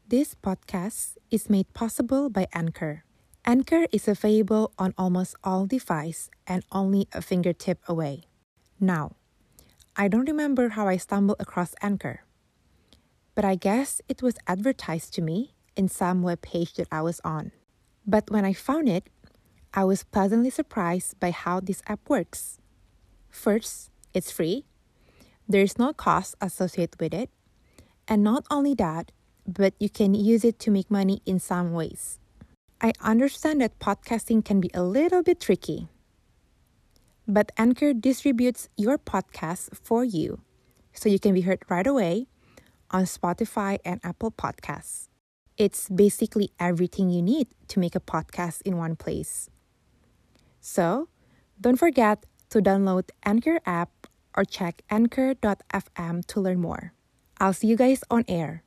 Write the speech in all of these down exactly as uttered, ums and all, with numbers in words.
This podcast is made possible by Anchor. Anchor is available on almost all devices and only a fingertip away. Now, I don't remember how I stumbled across Anchor, but I guess it was advertised to me in some web page that I was on. But when I found it, I was pleasantly surprised by how this app works. First, it's free. There's no cost associated with it. And not only that, but you can use it to make money in some ways. I understand that podcasting can be a little bit tricky, but Anchor distributes your podcast for you, so you can be heard right away on Spotify and Apple Podcasts. It's basically everything you need to make a podcast in one place. So, don't forget to download Anchor app or check anchor dot f m to learn more. I'll see you guys on air.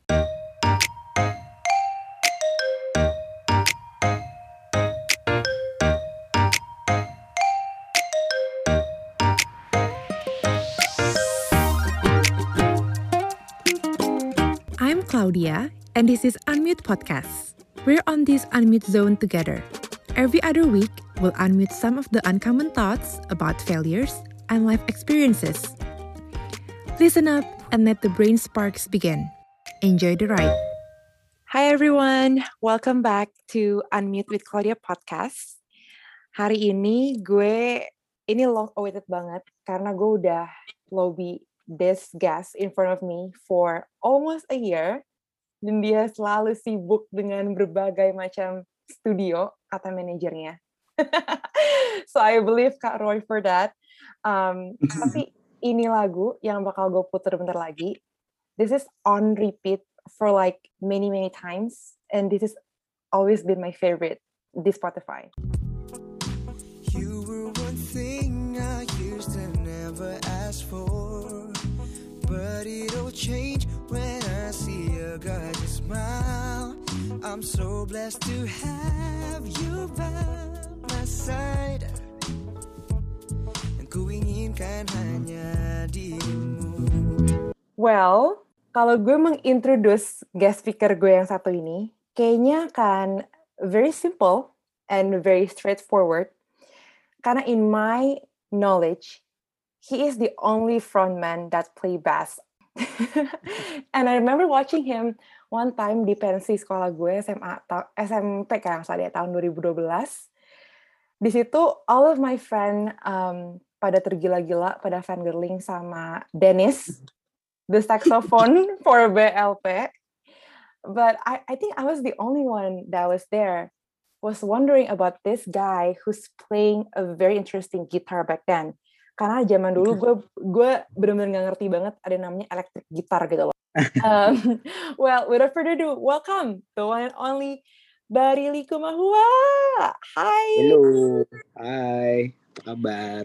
I'm Claudia, and this is Unmute Podcast. We're on this Unmute zone together. Every other week, we'll unmute some of the uncommon thoughts about failures and life experiences. Listen up and let the brain sparks begin. Enjoy the ride. Hi everyone, welcome back to Unmute with Claudia Podcast. Hari ini gue, ini long awaited banget karena gue udah lobby this guest in front of me for almost a year. Dan dia selalu sibuk dengan berbagai macam studio, kata manajernya. So I believe Kak Roy for that. Um, tapi ini lagu yang bakal gue puter bentar lagi. This is on repeat for like many, many times. And this has always been my favorite, this Spotify. You were one thing I used to never ask for. But it'll change when I see your gorgeous smile. I'm so blessed to have you by my side. Yang ku inginkan hanya dirimu. Well, kalau gue mengintroduce guest speaker gue yang satu ini, kayaknya kan very simple and very straightforward. Karena in my knowledge, he is the only frontman that play bass. And I remember watching him one time di pensi sekolah gue S M A, S M P kayak misalnya tahun dua ribu dua belas. Di situ all of my friend um, pada tergila-gila, pada fangirling sama Dennis, the saxophone for B L P. But I, I think I was the only one that was there, was wondering about this guy who's playing a very interesting guitar back then. Karena zaman dulu gue gue benar-benar nggak ngerti banget ada namanya electric guitar gitu loh. um, well, without further ado, welcome the one and only Barili Kumahua. Hi. Hello. Hai. Apa kabar?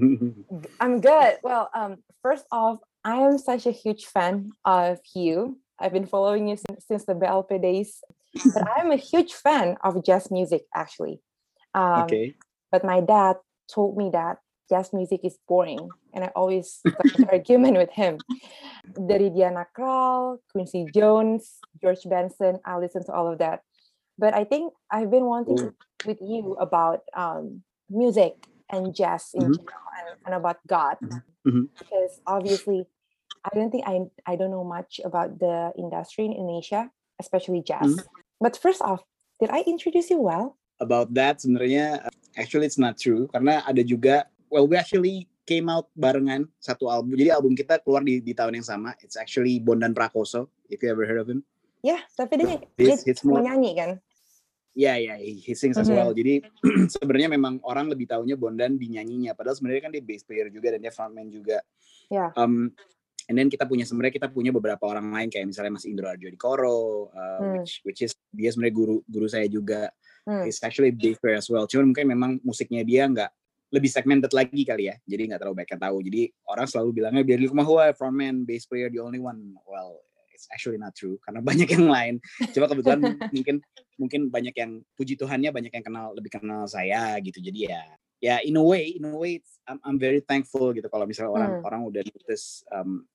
I'm good. Well, um, first off, I am such a huge fan of you. I've been following you since, since the B L P days, but I'm a huge fan of jazz music actually. Um, Okay. But my dad told me that jazz music is boring, and I always got into argument with him. Dari Diana Krall, Quincy Jones, George Benson, I listen to all of that. But I think I've been wanting to talk with you about um, music and jazz in Mhm. general, and, and about God, Mhm. because obviously I don't think I I don't know much about the industry in Indonesia, especially jazz. Mhm. But first off, did I introduce you well? About that sebenarnya uh, actually it's not true karena ada juga well we actually came out barengan satu album. Jadi album kita keluar di, di tahun yang sama. It's actually Bondan Prakoso, if you ever heard of him. Ya, yeah, tapi dia, It's, dia it's more menyanyi kan? yeah, yeah, he, he sings as Mhm. well. Jadi sebenarnya memang orang lebih taunya Bondan di nyanyinya. Padahal sebenarnya kan dia bass player juga dan dia frontman juga. Ya. Um, and then kita punya sebenarnya kita punya beberapa orang lain kayak misalnya Mas Indro Arjo Dikoro, uh, Hmm. which which is dia sebenarnya guru guru saya juga. Hmm. He's actually a bass player as well. Cuman mungkin memang musiknya dia nggak lebih segmented lagi kali ya. Jadi nggak terlalu banyak yang tahu. Jadi orang selalu bilangnya Barili Kumahua frontman, bass player, the only one. Well, it's actually not true karena banyak yang lain. Coba kebetulan mungkin mungkin banyak yang puji Tuhannya banyak yang kenal lebih kenal saya gitu. Jadi ya ya in a way in a way it's, I'm, I'm very thankful gitu kalau misalnya orang Hmm. orang udah notice um,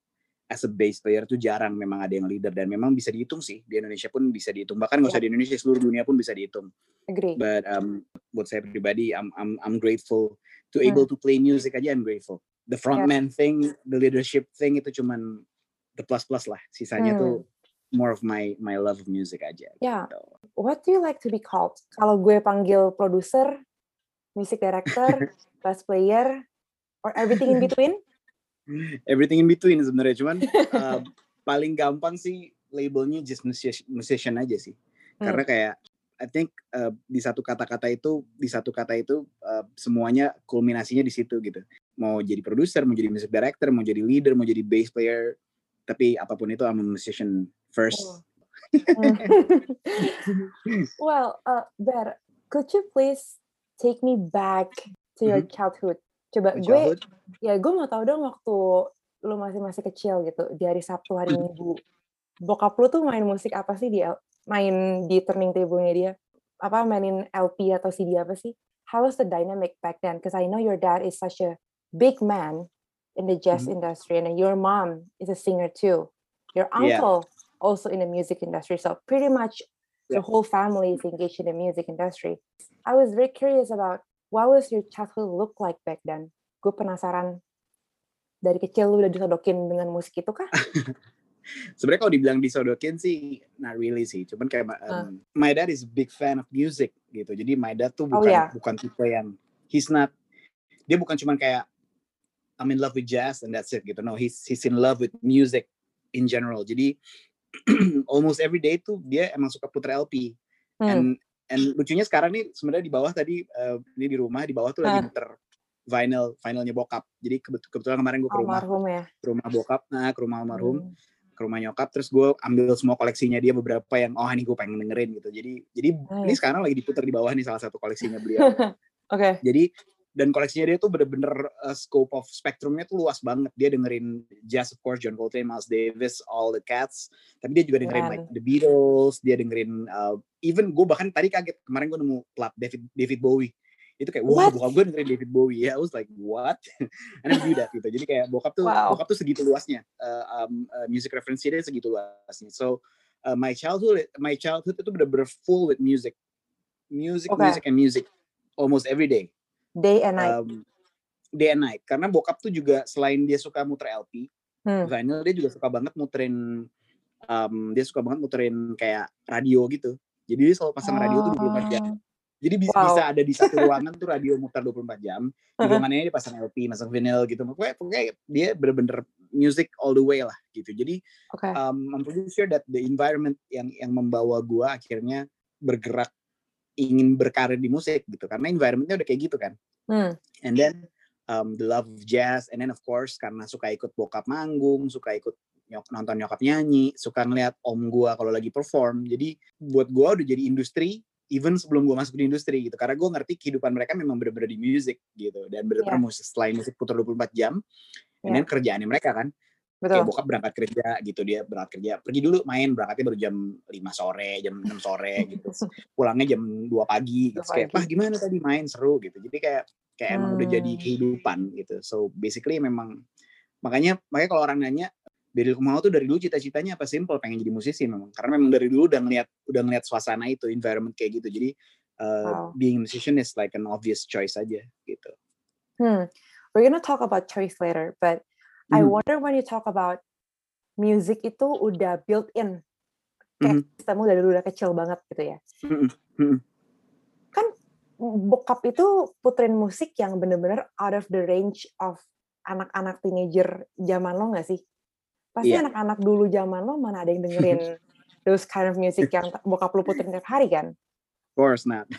as a bass player tuh jarang memang ada yang leader, dan memang bisa dihitung sih di Indonesia pun bisa dihitung, bahkan nggak usah di Indonesia, seluruh dunia pun bisa dihitung. Agree. But um, buat saya pribadi, I'm I'm I'm grateful to Hmm. able to play music aja. I'm grateful. The frontman thing, the leadership thing itu cuman the plus plus lah. Sisanya Hmm. tuh more of my my love of music aja. Yeah. Gitu. What do you like to be called? Kalau gue panggil producer, music director, bass player, or everything in between? Everything in between sebenarnya, cuman uh, paling gampang sih labelnya just musician, musician aja sih. Hmm. Karena kayak I think uh, di satu kata-kata itu, di satu kata itu uh, semuanya kulminasinya di situ gitu. Mau jadi produser, mau jadi music director, mau jadi leader, mau jadi bass player, tapi apapun itu I'm a musician first. Oh. Well, uh, Ber, could you please take me back to your Mhm. childhood? Coba My gue, childhood? ya gue mau tahu dong waktu lu masih masih kecil gitu, di hari Sabtu, hari Minggu, bokap lu tuh main musik apa sih, di L- main di turning table-nya dia? Apa mainin L P atau C D apa sih? How was the dynamic back then? Because I know your dad is such a big man in the jazz Mhm. industry, and then your mom is a singer too. Your Yeah. uncle also in the music industry. So pretty much the Yeah. whole family is engaged in the music industry. I was very curious about what was your childhood look like back then. Gue penasaran, dari kecil lu udah disodokin dengan musik itu kah? Sebenarnya kalau dibilang disodokin sih, not really sih. Cuman kayak um, my dad is a big fan of music gitu. Jadi my dad tuh Oh, bukan yeah. bukan tipe yang he's not, dia bukan cuman kayak I'm in love with jazz and that's it gitu. No, he's he's in love with music in general. Jadi almost every day tuh dia emang suka puter L P. Hmm. And and lucunya sekarang nih sebenarnya di bawah tadi uh, ini di rumah di bawah tuh lagi Hah. muter vinyl vinylnya bokap. Jadi kebet- kebetulan kemarin gue ke rumah Almarhum ya. ke rumah bokap, nah ke rumah almarhum, Hmm. ke rumah nyokap, terus gue ambil semua koleksinya dia, beberapa yang oh ini gue pengen dengerin gitu. Jadi jadi ini Nice. sekarang lagi diputar di bawah nih salah satu koleksinya beliau. Oke. Jadi dan koleksinya dia tuh bener-bener uh, scope of spectrumnya tuh luas banget. Dia dengerin jazz of course, John Coltrane, Miles Davis, all the cats. Tapi dia juga dengerin Keren. like the Beatles. Dia dengerin uh, even gue bahkan tadi kaget kemarin gue nemu plat David David Bowie. Itu kayak wah, What? bokap gue dengerin David Bowie. Ya, yeah, I was like what? I never do that gitu. Jadi kayak bokap tuh Wow. bokap tuh segitu luasnya. Uh, um, uh, music reference dia segitu luasnya. So uh, my childhood my childhood itu bener-bener full with music. Music, Okay. music and music almost every day. Day and night. Um, day and night. Karena bokap tuh juga selain dia suka muter L P, Hmm. vinyl, dia juga suka banget muterin, um, dia suka banget muterin kayak radio gitu. Jadi dia selalu pasang radio tuh dua puluh empat jam. Jadi bisa, Wow. bisa ada di satu ruangan tuh radio muter dua puluh empat jam. Di ruangannya dia pasang L P, pasang vinyl gitu. Pokoknya, pokoknya dia bener-bener music all the way lah gitu. Jadi Okay. um, I'm pretty sure that the environment yang yang membawa gua akhirnya bergerak ingin berkarir di musik gitu, karena environmentnya udah kayak gitu kan. Hmm. And then um, the love of jazz, and then of course karena suka ikut bokap manggung, suka ikut nyok, nonton nyokap nyanyi, suka ngeliat om gua kalau lagi perform. Jadi buat gua udah jadi industri even sebelum gua masuk di industri gitu, karena gua ngerti kehidupan mereka memang bener-bener di musik gitu, dan bener-bener Yeah. musik, selain musik putar dua puluh empat jam, and Yeah. then kerjaannya mereka kan. Kayak Betul. bokap berangkat kerja gitu, dia berangkat kerja, pergi dulu main, berangkatnya baru jam lima sore, jam enam sore gitu. Pulangnya jam dua pagi gitu. Dua Kayak, pagi. "Pah, gimana tadi main seru?" gitu. Jadi kayak kayak emang udah jadi Hmm. kehidupan gitu. So basically memang makanya makanya kalau orang nanya, Beril Kumahua tuh dari dulu cita-citanya apa? Simple, pengen jadi musisi memang. Karena memang dari dulu udah ngeliat udah ngeliat suasana itu, environment kayak gitu. Jadi uh, Wow. being a musician is like an obvious choice aja gitu. Hmm. We're gonna talk about choice later, but I Mhm. wonder when you talk about music itu udah built in, kayak Mhm. sistemmu dari dulu udah kecil banget gitu ya. Mhm. Mhm. Kan bokap itu puterin musik yang bener-bener out of the range of anak-anak teenager zaman lo nggak sih? Pasti Iya. anak-anak dulu zaman lo mana ada yang dengerin those kind of music yang bokap lo puterin tiap hari kan? Of course not.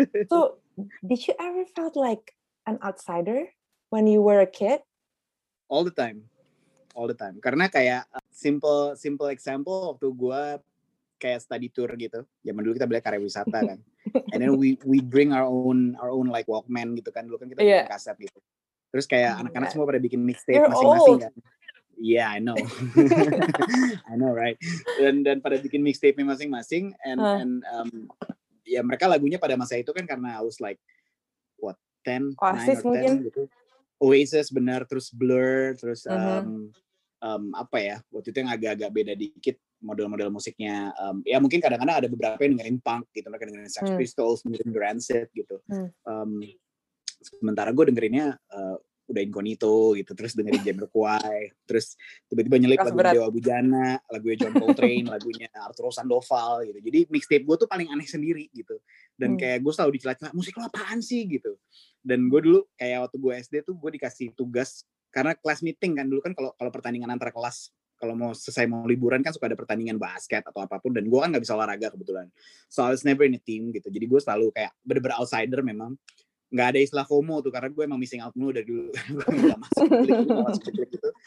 So, did you ever felt like an outsider when you were a kid? All the time, all the time. Karena kayak uh, simple simple example waktu gue kayak study tour gitu. Zaman dulu kita beli karya wisata kan. And then we we bring our own our own like Walkman gitu kan. Dulu kan kita Yeah. bikin kaset gitu. Terus kayak Oh, anak-anak God. semua pada bikin mixtape You're masing-masing old. kan. Yeah, I know. I know, right? Dan dan pada bikin mixtape masing-masing, and Huh. and um, ya mereka lagunya pada masa itu kan karena I was like what ten, nine Oasis or ten mungkin. gitu. Oasis benar, terus Blur, terus Mhm. um, um, apa ya, waktu itu yang agak-agak beda dikit model-model musiknya. Um, ya mungkin kadang-kadang ada beberapa yang dengerin punk gitu, mereka dengerin Sex Hmm. Pistols, dengerin Rancid gitu. Hmm. Um, sementara gue dengerinnya uh, udah Incognito gitu, terus dengerin Jamiroquai, terus tiba-tiba nyelip Keras lagu berat. Dewa Bujana, lagunya John Coltrane, lagunya Arturo Sandoval gitu. Jadi mixtape gue tuh paling aneh sendiri gitu. Dan Hmm. kayak gue selalu dicela-cela, musik lo apaan sih gitu. Dan gue dulu kayak waktu gue S D tuh gue dikasih tugas karena kelas meeting kan dulu kan, kalau kalau pertandingan antar kelas, kalau mau selesai mau liburan kan suka ada pertandingan basket atau apapun, dan gue kan nggak bisa olahraga kebetulan. So I was never in a team gitu. Jadi gue selalu kayak bener-bener outsider memang. Nggak ada istilah FOMO tuh, karena gue emang missing out mulu dari dulu. Gue nggak masuk di klik, gue nggak masuk di klik gitu.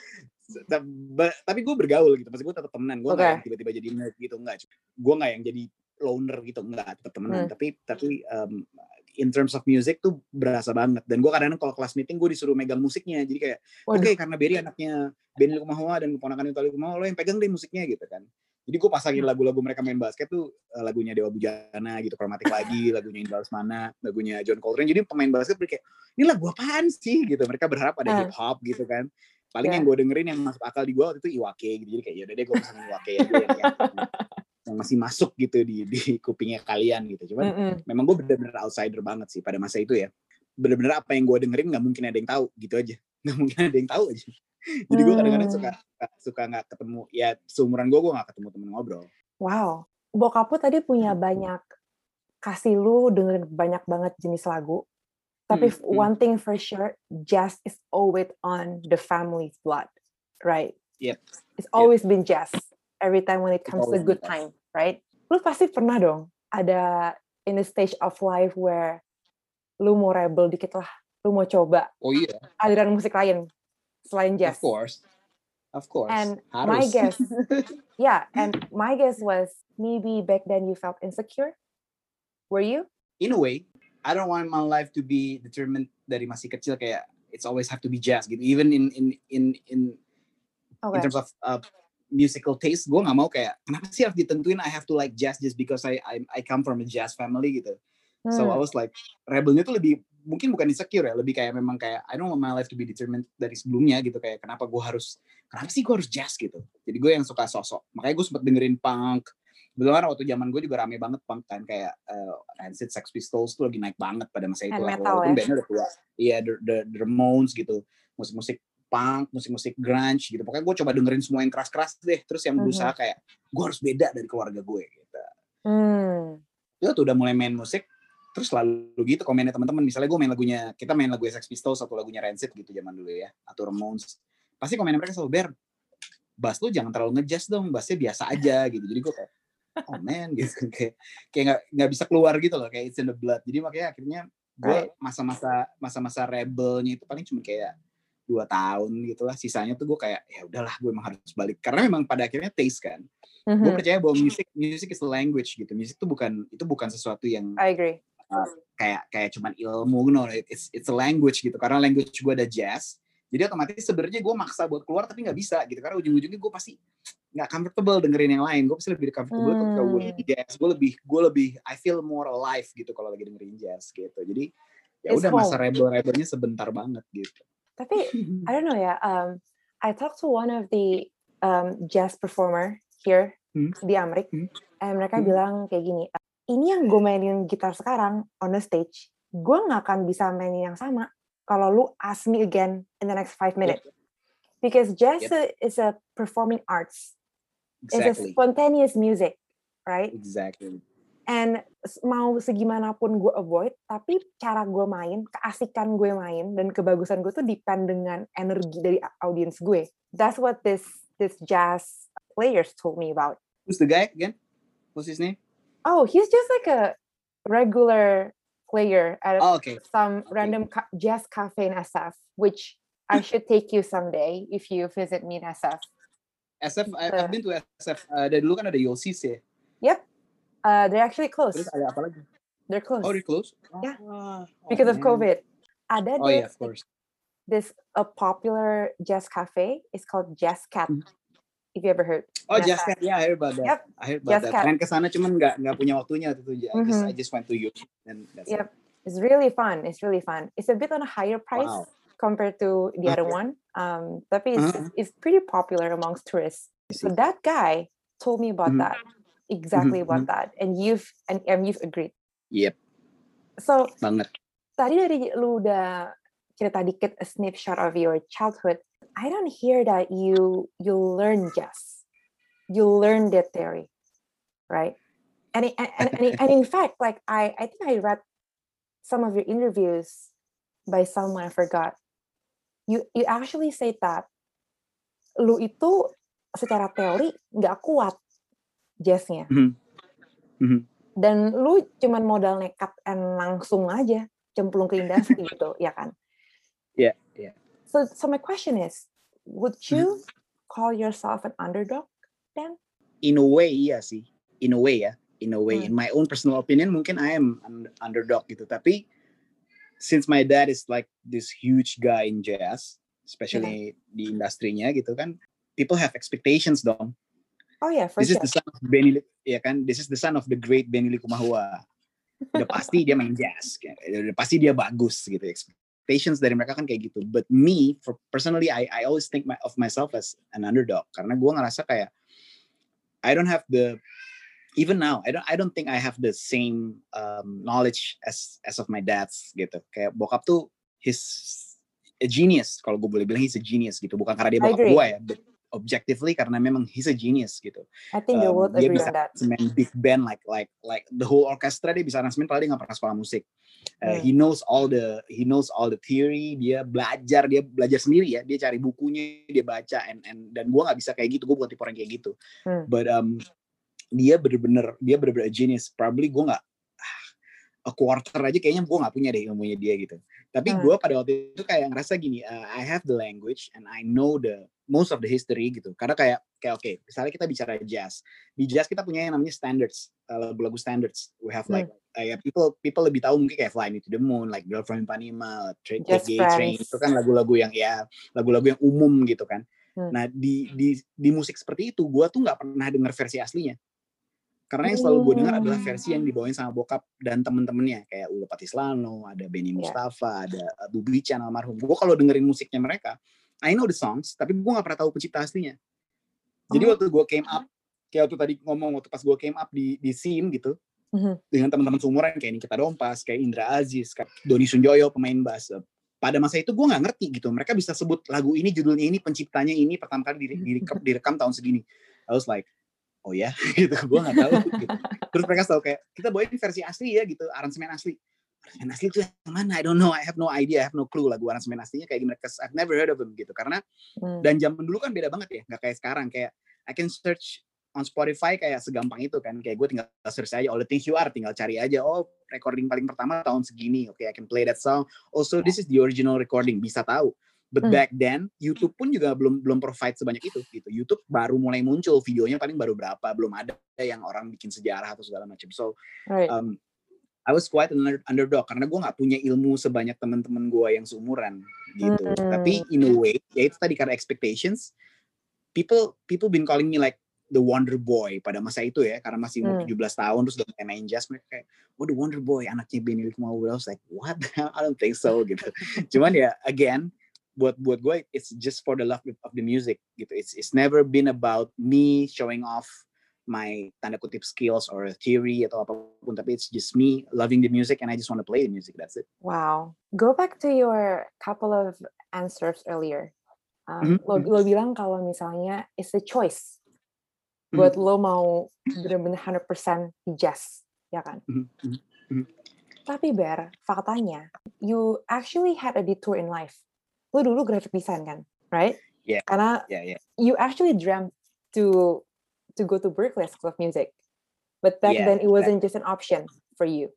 Tapi gue bergaul gitu, pasti gue tetap temenan. Gue nggak Okay. yang tiba-tiba jadi nerd gitu, nggak. Gue nggak yang jadi loner gitu, nggak, tetap temenan. Hmm. Tapi tapi um, in terms of music tuh berasa banget. Dan gue kadang-kadang kalau kelas meeting gue disuruh megang musiknya. Jadi kayak, oke okay, karena Berry anaknya Benny Likumahua dan keponakan Utha Likumahua, lo yang pegang deh musiknya gitu kan. Jadi gue pasangin lagu-lagu mereka main basket tuh, lagunya Dewa Bujana gitu, Chromatic lagi, lagunya Indra Lesmana, lagunya John Coltrane. Jadi pemain basket kayak, ini lagu apaan sih gitu. Mereka berharap ada Uh. hip hop gitu kan. Paling Yeah. yang gue dengerin yang masuk akal di gue waktu itu Iwake gitu. Jadi kayak yaudah deh gue pasangin Iwake aja yang, yang, yang masih masuk gitu di di kupingnya kalian gitu. Cuman Mm-mm. memang gue bener-bener outsider banget sih pada masa itu ya. Bener-bener apa yang gue dengerin nggak mungkin ada yang tahu gitu aja. Nggak mungkin ada yang tahu aja. Jadi gue kadang-kadang suka suka nggak ketemu, ya seumuran gue gue nggak ketemu temen ngobrol. Wow, bokap lu tadi punya banyak, kasih lu dengerin banyak banget jenis lagu. Tapi Hmm, one thing for sure, jazz is always on the family's blood, right? Yep. It's always yep. been jazz. Every time when it comes to good time, right? Lu pasti pernah dong ada in a stage of life where lu mau rebel dikit lah, lu mau coba. Oh iya. Aliran musik lain selain jazz. Of course. Of course. And Harus. my guess, yeah, and my guess was maybe back then you felt insecure. Were you? In a way, I don't want my life to be determined dari masih kecil kayak it's always have to be jazz gitu. Even in in in in okay. in terms of uh, musical taste, gue nggak mau kayak kenapa sih harus ditentuin I have to like jazz just because I I, I come from a jazz family gitu. Hmm. So I was like rebelnya tuh lebih mungkin bukan insecure ya, lebih kayak memang kayak I don't want my life to be determined dari sebelumnya gitu, kayak kenapa gue harus kenapa sih gue harus jazz gitu. Jadi gue yang suka sosok, makanya gue sempet dengerin punk. Betul waktu zaman gue juga rame banget punk kan, kayak uh, Rancid, Sex Pistols tuh lagi naik banget pada masa itu lah, walaupun ya? Bandnya udah tua. Iya, the, the, the Ramones gitu, musik-musik punk, musik-musik grunge gitu. Pokoknya gue coba dengerin semua yang keras-keras deh, terus yang berusaha kayak gue harus beda dari keluarga gue gitu. Hmm. Itu tuh udah mulai main musik. Terus selalu gitu komennya teman-teman, misalnya gue main lagunya, kita main lagu Sex Pistols atau lagunya Rancid gitu zaman dulu ya, atau Ramones, pasti komennya mereka selalu, Ber, bass lu jangan terlalu ngejazz dong, bassnya biasa aja gitu. Jadi gue kayak, oh man gitu, kayak kayak nggak nggak bisa keluar gitu loh, kayak it's in the blood. Jadi makanya akhirnya gue masa-masa masa-masa rebelnya itu paling cuma kayak dua tahun gitulah, sisanya tuh gue kayak ya udahlah, gue emang harus balik karena memang pada akhirnya taste kan. Mm-hmm. Gue percaya bahwa music music is a language gitu, musik itu bukan itu bukan sesuatu yang I agree. Uh, kayak kayak cuman ilmu, no, it's it's a language gitu. Karena language gue ada jazz, jadi otomatis sebenarnya gue maksa buat keluar tapi nggak bisa gitu, karena ujung-ujungnya gue pasti nggak comfortable dengerin yang lain. Gue pasti lebih comfortable hmm. ketika gue jazz. Gue lebih gue lebih I feel more alive gitu kalau lagi dengerin jazz gitu. Jadi ya udah masa rebel-rebelnya sebentar banget gitu. Tapi I don't know ya. Um, I talked to one of the um, jazz performer here hmm. di Amerika, hmm. and mereka hmm. bilang kayak gini. Ini yang gue mainin gitar sekarang on the stage, gue nggak akan bisa mainin yang sama kalau lu ask me again in the next five minutes. Yep. Because jazz yep. is a performing arts. Exactly. It's a spontaneous music, right? Exactly. And mau segimanapun gue avoid, tapi cara gue main, keasikan gue main, dan kebagusan gue tuh depend dengan energi dari audience gue. That's what this this jazz players told me about. Who's the guy again? What's his name? Oh, he's just like a regular player at oh, okay. some okay. random ca- jazz cafe in S F, which I should take you someday if you visit me in S F. S F, uh, I've been to S F. Uh, dari dulu kan ada Yossis ya? Yep. Uh, they're actually closed. Terus ada apa lagi? They're closed. Oh, they're closed? Yeah. Oh, because oh, of COVID. Ada oh, this, yeah, of course. this a popular jazz cafe. It's called Jazz Cat. Mm-hmm. If you ever heard. Oh, Jazz Cat. Yeah, I heard about that. Yep. I heard about Jazz that. Pengen kesana cuman nggak nggak punya waktunya waktu itu. I mm-hmm. just I just went to you and that's yep. it. It's really fun. It's really fun. It's a bit on a higher price compared to the other Okay. one. Um, tapi it's, Uh-huh. it's pretty popular amongst tourists. I So see. that guy told me about Mhm. that, exactly Mhm, about mhm. that, and you've and, and you've agreed. Yep, So banget. tadi dari lu udah cerita dikit a snapshot of your childhood. I don't hear that you you learn jazz, you learn that theory, right? And it- and and, and, and in fact, like I I think I read some of your interviews by someone I forgot. You you actually say that lu itu secara teori nggak kuat jazznya, Mhm, mhm. dan lu cuman modal nekat and langsung aja cemplung ke industri gitu, ya kan? Yeah, yeah. So so my question is, would Mhm. you call yourself an underdog then? In a way, iya sih. In a way ya. In a way, Hmm. in my own personal opinion, mungkin I am an underdog gitu. Tapi since my dad is like this huge guy in jazz, especially di industrinya gitu kan, people have expectations dong. Oh yeah, for This is sure. the son of Benny, Li- ya kan? This is the son of the great Benny Likumahua. Udah pasti dia main jazz, kayak, udah pasti dia bagus gitu. Expectations dari mereka kan kayak gitu. But me, for personally, I I always think my, of myself as an underdog karena gue ngerasa kayak I don't have the even now I don't I don't think I have the same um, knowledge as as of my dad's gitu. Kayak bokap tuh he's a genius kalau gue boleh bilang he's a genius gitu. Bukan karena dia I bokap agree. gue ya, but objectively karena memang he's a genius gitu. I think the Um, world dia agree bisa on that. main big band like like like the whole orchestra dia bisa aransemen padahal dia nggak pernah sekolah musik. Uh, Hmm. he knows all the he knows all the theory, dia belajar dia belajar sendiri ya, dia cari bukunya, dia baca and and dan gue nggak bisa kayak gitu, gue bukan tipe orang kayak gitu. Hmm. But um, dia bener-bener dia bener-bener a genius. Probably gue nggak a quarter aja kayaknya gue nggak punya deh ilmunya dia gitu. Tapi Hmm. gue pada waktu itu kayak ngerasa gini, uh, I have the language and I know the most of the history gitu. Karena kayak kayak oke, okay, misalnya kita bicara jazz, di jazz kita punya yang namanya standards, uh, lagu-lagu standards. We have like Hmm. uh, ya people people lebih tahu mungkin kayak Fly Me to the Moon, like Girl from Ipanema, Take Just Gay Train, Friends. itu kan lagu-lagu yang ya lagu-lagu yang umum gitu kan. Hmm. Nah di di di musik seperti itu, gue tuh nggak pernah denger versi aslinya. Karena yang selalu gue dengar adalah versi yang dibawain sama bokap dan temen-temennya kayak Ulo Patislano, ada Benny Yeah. Mustafa, ada Bu Bican almarhum. Gue kalau dengerin musiknya mereka, I know the songs, tapi gue nggak pernah tahu pencipta aslinya. Jadi Oh. waktu gue came up, kayak waktu tadi ngomong waktu pas gue came up di di scene gitu, Mhm. dengan teman-teman seumuran kayak Nikita Dompas, kayak Indra Aziz, kayak Doni Sunjoyo pemain bass. Pada masa itu gue nggak ngerti gitu. Mereka bisa sebut lagu ini, judulnya ini, penciptanya ini, pertama kali dire- direkam, direkam tahun segini. I was like, oh ya, gitu. Gue nggak tahu. Gitu. Terus mereka tahu kayak kita bawain versi asli ya gitu, aransemen asli. Aransemen asli itu yang mana? I don't know. I have no idea. I have no clue lagu aransemen aslinya kayak gimana. Cause I've never heard of them gitu. Karena Hmm. dan zaman dulu kan beda banget ya, nggak kayak sekarang. Kayak I can search on Spotify kayak segampang itu kan. Kayak gue tinggal search aja All the Things You Are, tinggal cari aja. Oh, recording paling pertama tahun segini. Oke, okay, I can play that song. Also, this is the original recording. Bisa tahu. But Hmm. back then, YouTube pun juga belum belum provide sebanyak itu gitu. YouTube baru mulai muncul, videonya paling baru berapa, belum ada yang orang bikin sejarah atau segala macam. So, Right. um, I was quite an underdog karena gue nggak punya ilmu sebanyak teman-teman gue yang seumuran gitu. Hmm. Tapi in a way, ya itu tadi karena expectations, people people been calling me like the Wonder Boy pada masa itu ya, karena masih umur Hmm. tujuh belas tahun terus udah main jazz, mereka kayak, oh the Wonder Boy, anaknya Benny Likumahua. I was like, what? I don't think so gitu. Cuman ya again, buat buat gue it's just for the love of the music gitu. It's it's never been about me showing off my tanda kutip skills or theory atau apapun, tapi it's just me loving the music and I just want to play the music. That's it. Wow. Go back to your couple of answers earlier. Um, Mhm. lo, lo bilang kalau misalnya it's a choice buat lo mau bener-bener one hundred percent di jazz, ya kan? Mhm. Mhm. Mhm. Tapi Ber, faktanya, you actually had a detour in life. Lo dulu graphic design kan, right? Yeah. Karena Yeah, yeah. you actually dreamt to to go to Berklee School of Music, but back Yeah, then it wasn't just an option for you.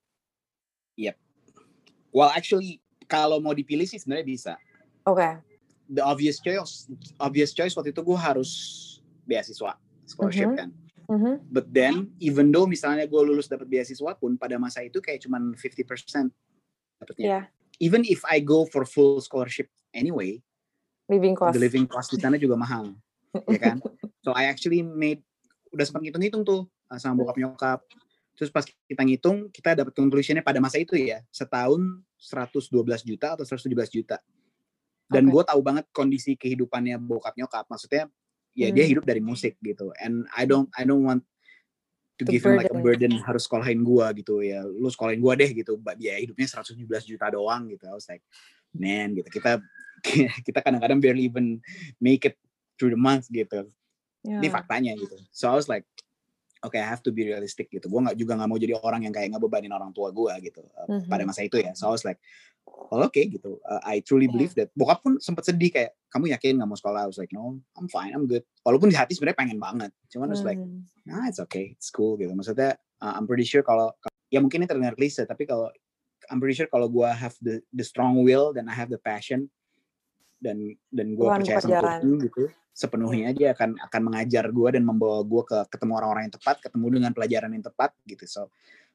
Yep. Well, actually, kalau mau dipilih sih sebenarnya bisa. Oke. Okay. The obvious choice, obvious choice waktu itu gue harus beasiswa, scholarship Mm-hmm. kan. Mm-hmm. But then, even though misalnya gue lulus dapat beasiswa pun, pada masa itu kayak cuman fifty percent dapatnya. Yeah. Even if I go for full scholarship anyway, living cost. the living cost di sana juga mahal, ya kan? So I actually made, udah sempat ngitung-ngitung tuh sama bokap nyokap. Terus pas kita ngitung, kita dapat conclusionnya pada masa itu ya, setahun seratus dua belas juta atau seratus tujuh belas juta. Dan Oke. gue tahu banget kondisi kehidupannya bokap nyokap. Maksudnya ya dia Hmm. hidup dari musik gitu. And I don't I don't want to The give him like a burden. burden harus sekolahin gue gitu ya. Lu sekolahin gue deh gitu. Biaya hidupnya seratus tujuh belas juta doang gitu. I was like, man gitu. Kita kita kadang-kadang barely even make it through the month gitu. Ini Ya. faktanya gitu. So I was like, okay, I have to be realistic gitu. Gue nggak juga nggak mau jadi orang yang kayak ngebebanin orang tua gue gitu uh, Mhm. pada masa itu ya. So I was like, oh, oke okay, gitu. Uh, I truly Iya. believe that. Bokap pun sempat sedih kayak, kamu yakin nggak mau sekolah? I was like, no, I'm fine, I'm good. Walaupun di hati sebenarnya pengen banget. Cuman I was like, Hmm. nah it's okay, it's cool gitu. Maksudnya uh, I'm pretty sure kalau, ya mungkin ini terdengar klise, tapi kalau I'm pretty sure kalau gue have the the strong will dan I have the passion dan dan gue Tuhan percaya sama berjalan. Tuhan gitu, sepenuhnya dia akan akan mengajar gue dan membawa gue ke ketemu orang-orang yang tepat, ketemu dengan pelajaran yang tepat gitu. So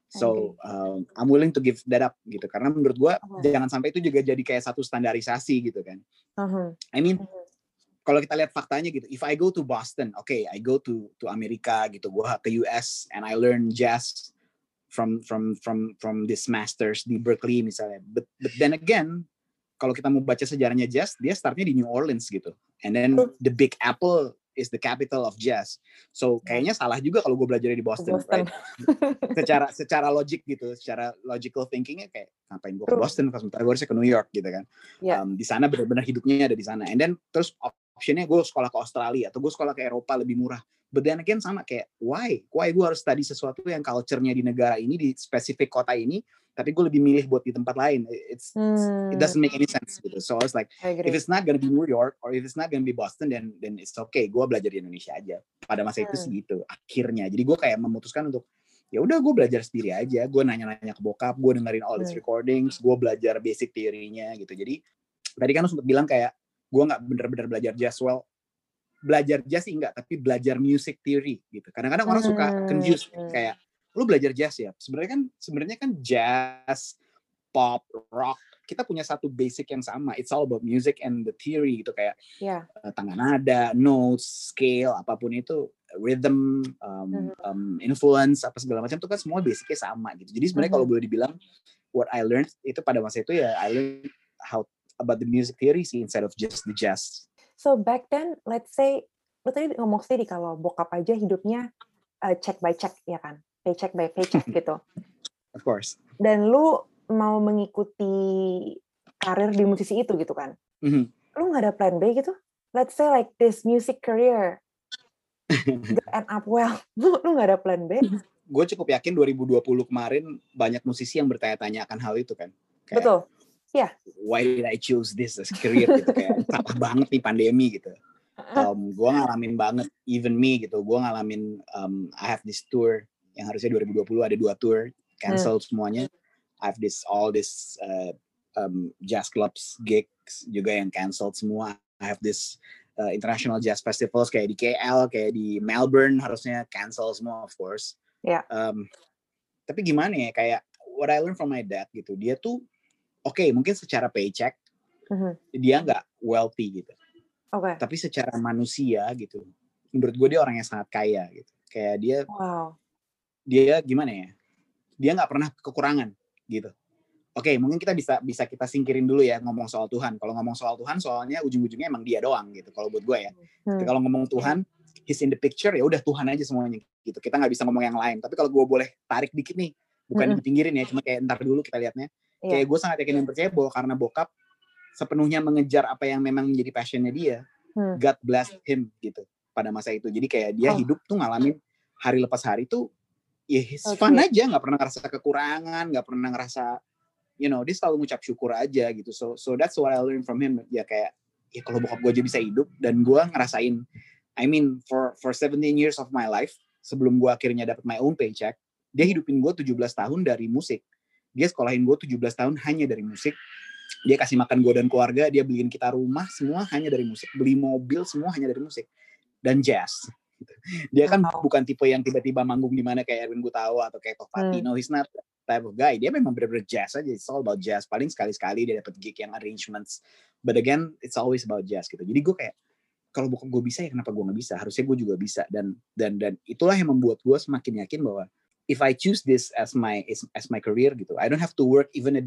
so um, I'm willing to give that up gitu. Karena menurut gue Oke. jangan sampai itu juga jadi kayak satu standarisasi gitu kan. Mhm. I mean Mhm. kalau kita lihat faktanya gitu, if I go to Boston, okay, I go to to Amerika gitu, gue ke U S and I learn jazz from from from from this masters di Berkeley misalnya. But but then again, kalau kita mau baca sejarahnya jazz, dia startnya di New Orleans gitu. And then the Big Apple is the capital of jazz. So kayaknya salah juga kalau gue belajar di Boston, Boston. right? secara secara logik gitu, secara logical thinkingnya kayak ngapain gue ke True. Boston, pas sementara gue harusnya ke New York gitu kan. Ya. Um, di sana benar-benar hidupnya ada di sana. And then terus optionnya gue sekolah ke Australia atau gue sekolah ke Eropa lebih murah. But then again sama kayak why? Why gue harus study sesuatu yang culture-nya di negara ini, di spesifik kota ini, tapi gue lebih milih buat di tempat lain. It's, Hmm. it doesn't make any sense gitu. So I was like, I if agree. it's not gonna be New York or if it's not gonna be Boston, then then it's okay. Gue belajar di Indonesia aja. Pada masa itu Hmm. sih gitu. Akhirnya, jadi gue kayak memutuskan untuk ya udah gue belajar sendiri aja. Gue nanya-nanya ke bokap, gue dengerin all these Hmm. recordings, gue belajar basic teorinya gitu. Jadi tadi kan lu sempat bilang kayak gue nggak bener-bener belajar jazz. Well, belajar jazz sih enggak, tapi belajar music theory gitu. Kadang-kadang orang suka confuse Hmm. kayak lu belajar jazz ya. Sebenarnya kan sebenarnya kan jazz, pop, rock, kita punya satu basic yang sama. It's all about music and the theory gitu kayak Ya. uh, tangga nada, notes, scale, apapun itu, rhythm, um, Mhm. um, influence, apa segala macam itu kan semua basicnya sama gitu. Jadi sebenarnya kalau Mhm. boleh dibilang what I learned itu pada masa itu ya I learned how about the music theory sih instead of just the jazz. So back then, let's say, lo tadi ngomong sendiri kalau bokap aja hidupnya uh, check by check, ya kan? Paycheck by paycheck gitu. Of course. Dan lu mau mengikuti karir di musisi itu gitu kan? Mm-hmm. Lu nggak ada plan B gitu? Let's say like this music career gak end up well. Lu lu nggak ada plan B? Gue cukup yakin dua ribu dua puluh kemarin banyak musisi yang bertanya-tanya akan hal itu kan. Kayak, Betul. Ya. Why did I choose this as career gitu kayak salah banget nih pandemi gitu. Um, gue ngalamin banget, even me gitu. Gue ngalamin um, I have this tour yang harusnya dua ribu dua puluh ada dua tour cancel hmm. semuanya. I have this all this uh, um, jazz clubs gigs juga yang cancelled semua. I have this uh, international jazz festivals kayak di K L, kayak di Melbourne harusnya cancel semua of course. Ya. Um, tapi gimana ya kayak what I learned from my dad gitu. Dia tuh oke okay, mungkin secara paycheck uh-huh. dia nggak wealthy gitu. Okay. Tapi secara manusia gitu, menurut gue dia orang yang sangat kaya gitu. Kayak dia, wow. dia gimana ya? Dia nggak pernah kekurangan gitu. Oke, okay, mungkin kita bisa bisa kita singkirin dulu ya ngomong soal Tuhan. Kalau ngomong soal Tuhan, soalnya ujung-ujungnya emang dia doang gitu. Kalau buat gue ya. Hmm. Kalau ngomong Tuhan, he's in the picture ya udah Tuhan aja semuanya gitu. Kita nggak bisa ngomong yang lain. Tapi kalau gue boleh tarik dikit nih, bukan mm-hmm. dipinggirin ya, cuma kayak ntar dulu kita lihatnya. Yeah. Kayak gue sangat yakin dan percaya bahwa karena bokap sepenuhnya mengejar apa yang memang menjadi passionnya dia, hmm. God bless him gitu pada masa itu. Jadi kayak dia oh. hidup tuh ngalamin hari lepas hari tuh ya yeah, okay. fun aja, nggak pernah ngerasa kekurangan, nggak pernah ngerasa, you know, dia selalu ngucap syukur aja gitu. So so that's what I learned from him. Ya kayak ya kalau bokap gue aja bisa hidup dan gue ngerasain, I mean for for seventeen years of my life sebelum gue akhirnya dapat my own paycheck, dia hidupin gue tujuh belas tahun dari musik. Dia sekolahin gue tujuh belas tahun hanya dari musik. Dia kasih makan gue dan keluarga, dia beliin kita rumah semua hanya dari musik, beli mobil semua hanya dari musik dan jazz. Dia kan wow. bukan tipe yang tiba-tiba manggung di mana kayak Erwin Gutawa atau kayak Tohpati. Hmm. No, he's not that type of guy. Dia memang benar-benar jazz aja. It's all about jazz. Paling sekali-sekali dia dapat gig yang arrangements. But again, it's always about jazz gitu. Jadi gue kayak kalau bukan gue bisa ya kenapa gue nggak bisa? Harusnya gue juga bisa. Dan dan dan itulah yang membuat gue semakin yakin bahwa if I choose this as my as, as my career gitu, I don't have to work even a day.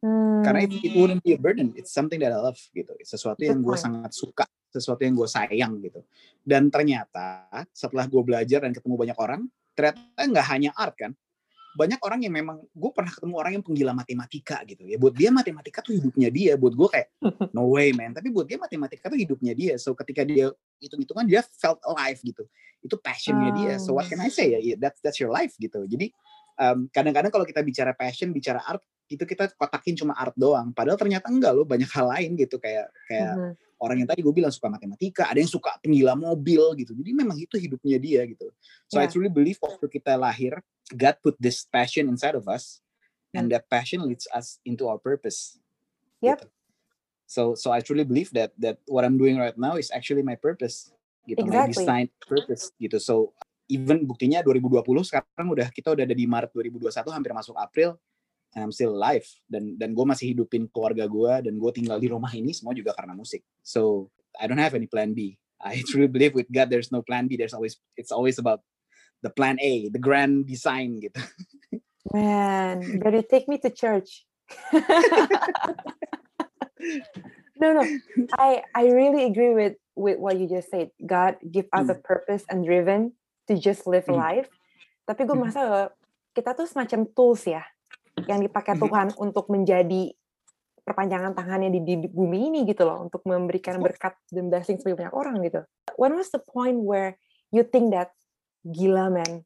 Hmm. Karena it, it wouldn't be a burden. It's something that I love gitu. It's sesuatu yang gue Good point. sangat suka, sesuatu yang gue sayang gitu. Dan ternyata setelah gue belajar dan ketemu banyak orang, ternyata nggak hanya art kan. Banyak orang yang memang, gue pernah ketemu orang yang penggila matematika gitu ya. Buat dia matematika tuh hidupnya dia. Buat gue kayak, no way man. Tapi buat dia matematika tuh hidupnya dia. So ketika dia hitung-hitungan, dia felt alive gitu. Itu passionnya dia. So what can I say ya? That's, that's your life gitu. Jadi um, kadang-kadang kalau kita bicara passion, bicara art, itu kita kotakin cuma art doang. Padahal ternyata enggak loh, banyak hal lain gitu. Kayak kayak Mhm. orang yang tadi gue bilang suka matematika, ada yang suka penggila mobil gitu. Jadi memang itu hidupnya dia gitu. So I Yeah. truly believe waktu kita lahir, God put this passion inside of us, and Hmm. that passion leads us into our purpose. Yep. Gitu. So so I truly believe that that what I'm doing right now is actually my purpose. Gitu, my Exactly. designed purpose gitu. So even buktinya dua ribu dua puluh sekarang udah kita udah ada di Maret dua ribu dua puluh satu, hampir masuk April. And I'm still alive, dan dan gue masih hidupin keluarga gue, dan gue tinggal di rumah ini semua juga karena musik. So I don't have any plan B. I truly believe with God there's no plan B. There's always it's always about the plan A, the grand design gitu. Man, better take me to church. no, no. I I really agree with with what you just said. God give us a purpose and driven to just live Hmm. life. Tapi gue merasa kita tuh semacam tools ya, yang dipakai Tuhan untuk menjadi perpanjangan tangannya di, di bumi ini gitu loh, untuk memberikan berkat dan blessing bagi banyak orang gitu. When was the point where you think that, gila man,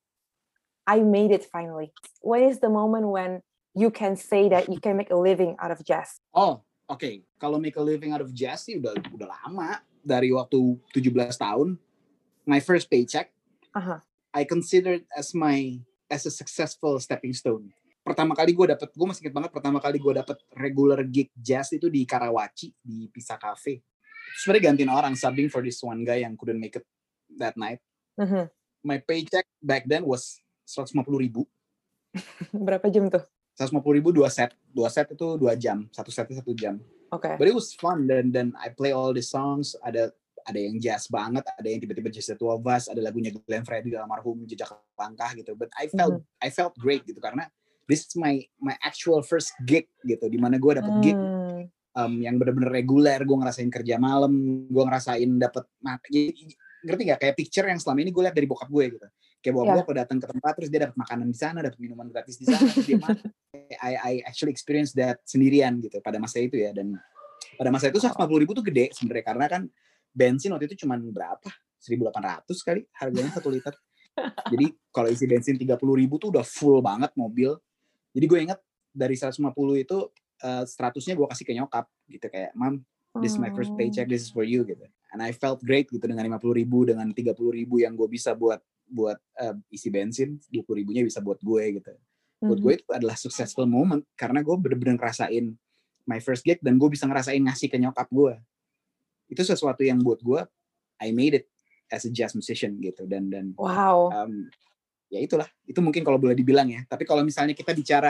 I made it finally? When is the moment when you can say that you can make a living out of jazz? Oh, oke. Okay. Kalau make a living out of jazz sih udah udah lama. Dari waktu tujuh belas tahun, my first paycheck, uh-huh. I considered as my as a successful stepping stone. Pertama kali gue dapet, gue masih inget banget pertama kali gue dapet regular gig jazz itu di Karawaci, di Pisa Cafe. Sebenarnya gantiin orang, subbing for this one guy yang couldn't make it that night. Uh-huh. My paycheck back then was seratus lima puluh ribu. Berapa jam tuh? seratus lima puluh ribu dua set. Dua set itu dua jam. Satu setnya satu jam. Oke. Okay. But it was fun. Dan dan I play all the songs. Ada ada yang jazz banget, ada yang tiba-tiba just the two of us, ada lagunya Glenn Fredly almarhum, Jejak Langkah gitu. But I felt mm-hmm. I felt great gitu karena this is my my actual first gig gitu, di mana gue dapet mm. gig um, yang benar-benar reguler. Gue ngerasain kerja malam, gue ngerasain dapet ngerti nggak, kayak picture yang selama ini gue lihat dari bokap gue gitu. Kayak bokap yeah. gue kalau datang ke tempat terus dia dapat makanan di sana, dapat minuman gratis di sana, terus dia makan. I I actually experienced that sendirian gitu pada masa itu ya. Dan pada masa itu seratus lima puluh ribu tuh gede sebenarnya, karena kan bensin waktu itu cuma berapa? seribu delapan ratus kali harganya satu liter. Jadi kalau isi bensin tiga puluh ribu tuh udah full banget mobil. Jadi gue ingat dari seratus lima puluh itu uh, seratusnya gue kasih ke nyokap gitu, kayak, "Mom, this is my first paycheck, this is for you," gitu. And I felt great gitu dengan lima puluh ribu, dengan tiga puluh ribu yang gue bisa buat buat uh, isi bensin, dua puluh ribunya bisa buat gue gitu. Mm-hmm. Buat gue itu adalah successful moment karena gue bener-bener ngerasain my first gig dan gue bisa ngerasain ngasih ke nyokap gue. Itu sesuatu yang buat gue, I made it as a jazz musician gitu. Dan dan wow. um, ya itulah, itu mungkin kalau boleh dibilang ya. Tapi kalau misalnya kita bicara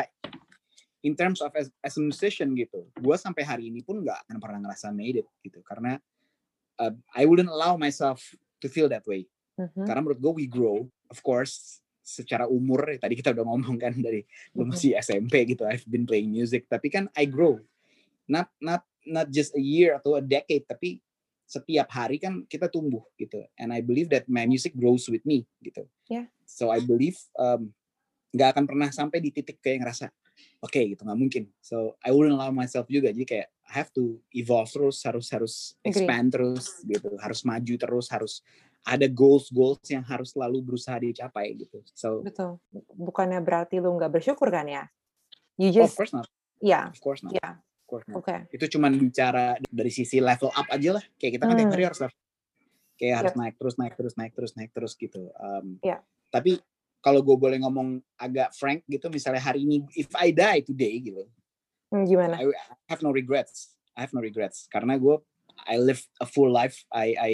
in terms of as, as a musician gitu, gue sampai hari ini pun nggak akan pernah ngerasa made it gitu, karena uh, I wouldn't allow myself to feel that way. Mm-hmm. Karena menurut gue we grow, of course, secara umur. Tadi kita udah ngomong kan dari mm-hmm. lu masih S M P gitu, I've been playing music, tapi kan I grow. Not not not just a year atau a decade, tapi setiap hari kan kita tumbuh gitu. And I believe that my music grows with me gitu. Yeah. So I believe um, gak akan pernah sampai di titik kayak ngerasa oke okay, gitu, nggak mungkin. So I wouldn't allow myself juga. Jadi kayak I have to evolve terus, harus harus expand Agree. terus gitu, harus maju terus, harus ada goals goals yang harus selalu berusaha dicapai gitu. So betul. Bukannya berarti lu nggak bersyukur kan ya? You just, oh, of course not. Yeah. Of course not. Yeah. Oke. Okay. Itu cuman bicara dari sisi level up aja lah. Kayak kita kan hmm. tiap hari harus level. Kayak yep. harus naik terus, naik terus, naik terus, naik terus gitu. Um, yeah. Tapi kalau gue boleh ngomong agak frank gitu, misalnya hari ini, if I die today gitu, hmm, gimana? I, I have no regrets. I have no regrets karena gue, I live a full life. I, I,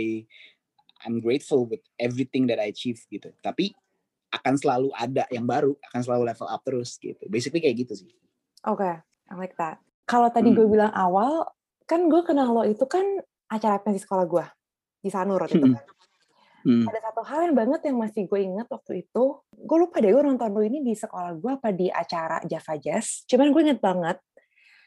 I'm grateful with everything that I achieve gitu. Tapi akan selalu ada yang baru, akan selalu level up terus gitu. Basically kayak gitu sih. Oke, okay. I like that. Kalau tadi hmm. gue bilang awal, kan gue kenal lo itu kan acara pensi sekolah gue di Sanur waktu itu kan. Hmm. Ada satu hal yang banget yang masih gue ingat waktu itu, gue lupa deh gue nonton lo ini di sekolah gue apa di acara Java Jazz. Cuman gue inget banget,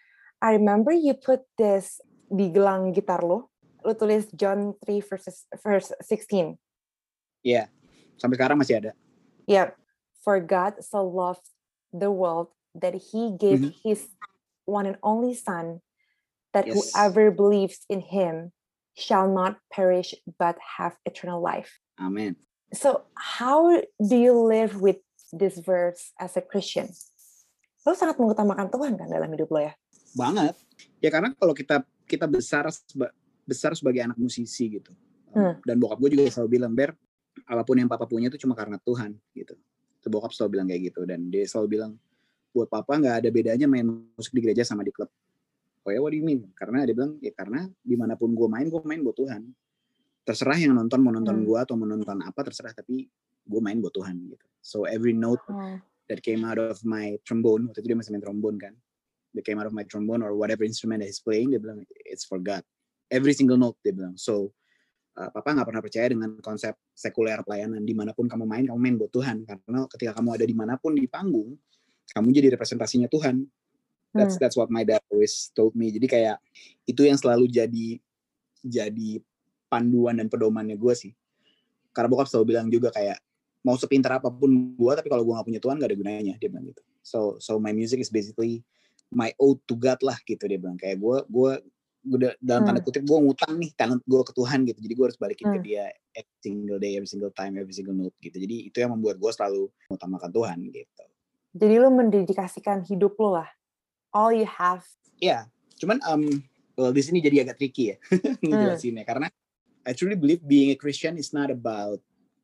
I remember you put this di gelang gitar lo. Lo tulis John three verses verse sixteen. Iya, yeah. Sampai sekarang masih ada. Yep. For God so loved the world that he gave Mhm. his one and only son, that Yes. whoever believes in him shall not perish but have eternal life. Amen. So how do you live with this verse as a Christian? Lo sangat mengutamakan Tuhan kan dalam hidup lo ya? Banget. Ya karena kalau kita kita besar seba, besar sebagai anak musisi gitu. Hmm. Dan bokap gue juga selalu bilang, Ber, apapun yang papa punya itu cuma karena Tuhan gitu. Itu bokap selalu bilang kayak gitu, dan dia selalu bilang, buat papa nggak ada bedanya main musik di gereja sama di klub. Oh ya, what do you mean? Karena dia bilang, ya karena dimanapun gue main, gue main buat Tuhan. Terserah yang nonton mau nonton hmm. gue atau mau nonton apa, terserah, tapi gue main buat Tuhan gitu. So every note hmm. that came out of my trombone, waktu itu dia masih main trombone kan, that came out of my trombone or whatever instrument that he's playing, dia bilang it's for God. Every single note, dia bilang. So uh, papa nggak pernah percaya dengan konsep sekuler pelayanan. Dimanapun kamu main, kamu main buat Tuhan. Karena ketika kamu ada dimanapun di panggung, kamu jadi representasinya Tuhan. That's hmm. that's what my dad always told me. Jadi kayak itu yang selalu jadi jadi panduan dan pedomannya gue sih. Karena bokap selalu bilang juga kayak mau sepintar apapun gue, tapi kalau gue nggak punya Tuhan nggak ada gunanya, dia bilang gitu. So so my music is basically my ode to God lah gitu, dia bilang. Kayak gue gue gue dalam tanda kutip gue ngutang nih talent gue ke Tuhan gitu. Jadi gue harus balikin hmm. ke dia every single day, every single time, every single note gitu. Jadi itu yang membuat gue selalu mengutamakan Tuhan gitu. Jadi lu mendedikasikan hidup lu lah, all you have. Iya, yeah. Cuman um, well, di sini jadi agak tricky ya ngejelasinnya, hmm. karena I truly believe being a Christian is not about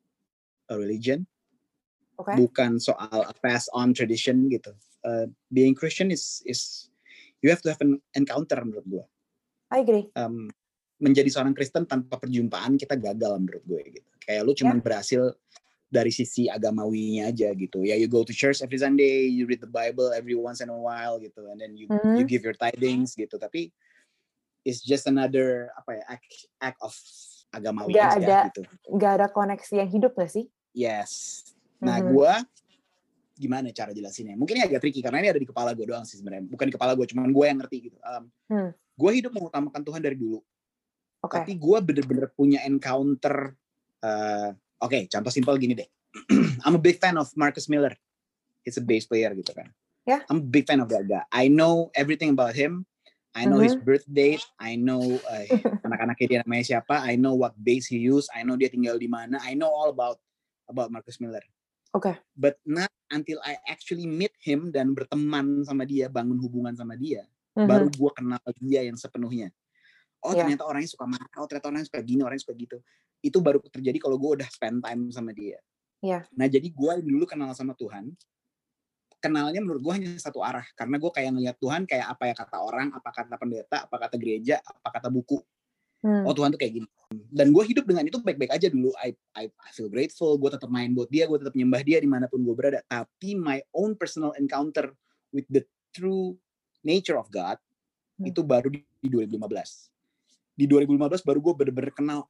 a religion, okay. bukan soal a pass on tradition gitu. Uh, being Christian is is you have to have an encounter menurut gue. I agree. Um, menjadi seorang Kristen tanpa perjumpaan kita gagal menurut gue gitu. Kayak lu cuman yeah. berhasil dari sisi agamawinya aja gitu. Ya, you go to church every Sunday, you read the Bible every once in a while gitu, and then you mm-hmm. you give your tithings gitu. Tapi it's just another apa ya act, act of agamawi gak aja ada, gitu. Gak ada koneksi yang hidup gak sih? Yes. Nah, mm-hmm. gue gimana cara jelasinnya? Mungkin ini agak tricky karena ini ada di kepala gue doang sih sebenarnya. Bukan di kepala gue, cuman gue yang ngerti gitu. Um, hmm. Gue hidup mengutamakan Tuhan dari dulu. Okay. Tapi gue bener-bener punya encounter. Uh, Oke, okay, contoh simpel gini deh. I'm a big fan of Marcus Miller. He's a bass player gitu kan. Yeah. I'm a big fan of that guy. I know everything about him. I know mm-hmm. his birth date. I know uh, anak-anaknya dia namanya siapa. I know what bass he use. I know dia tinggal di mana. I know all about about Marcus Miller. Oke. Okay. But not until I actually meet him dan berteman sama dia, bangun hubungan sama dia, mm-hmm. baru gue kenal dia yang sepenuhnya. Oh yeah. Ternyata orangnya suka marah. Oh ternyata orangnya suka gini, orangnya suka gitu. Itu baru terjadi kalau gue udah spend time sama dia. Yeah. Nah jadi gue dulu kenal sama Tuhan, kenalnya menurut gue hanya satu arah. Karena gue kayak ngeliat Tuhan kayak apa ya kata orang, apa kata pendeta, apa kata gereja, apa kata buku. Hmm. Oh Tuhan tuh kayak gini. Dan gue hidup dengan itu baik-baik aja dulu. I, I, I feel grateful. Gue tetap main buat dia, gue tetap nyembah dia dimanapun gue berada. Tapi my own personal encounter with the true nature of God hmm. itu baru di, di dua ribu lima belas. Di dua ribu lima belas baru gue bener-bener kenal,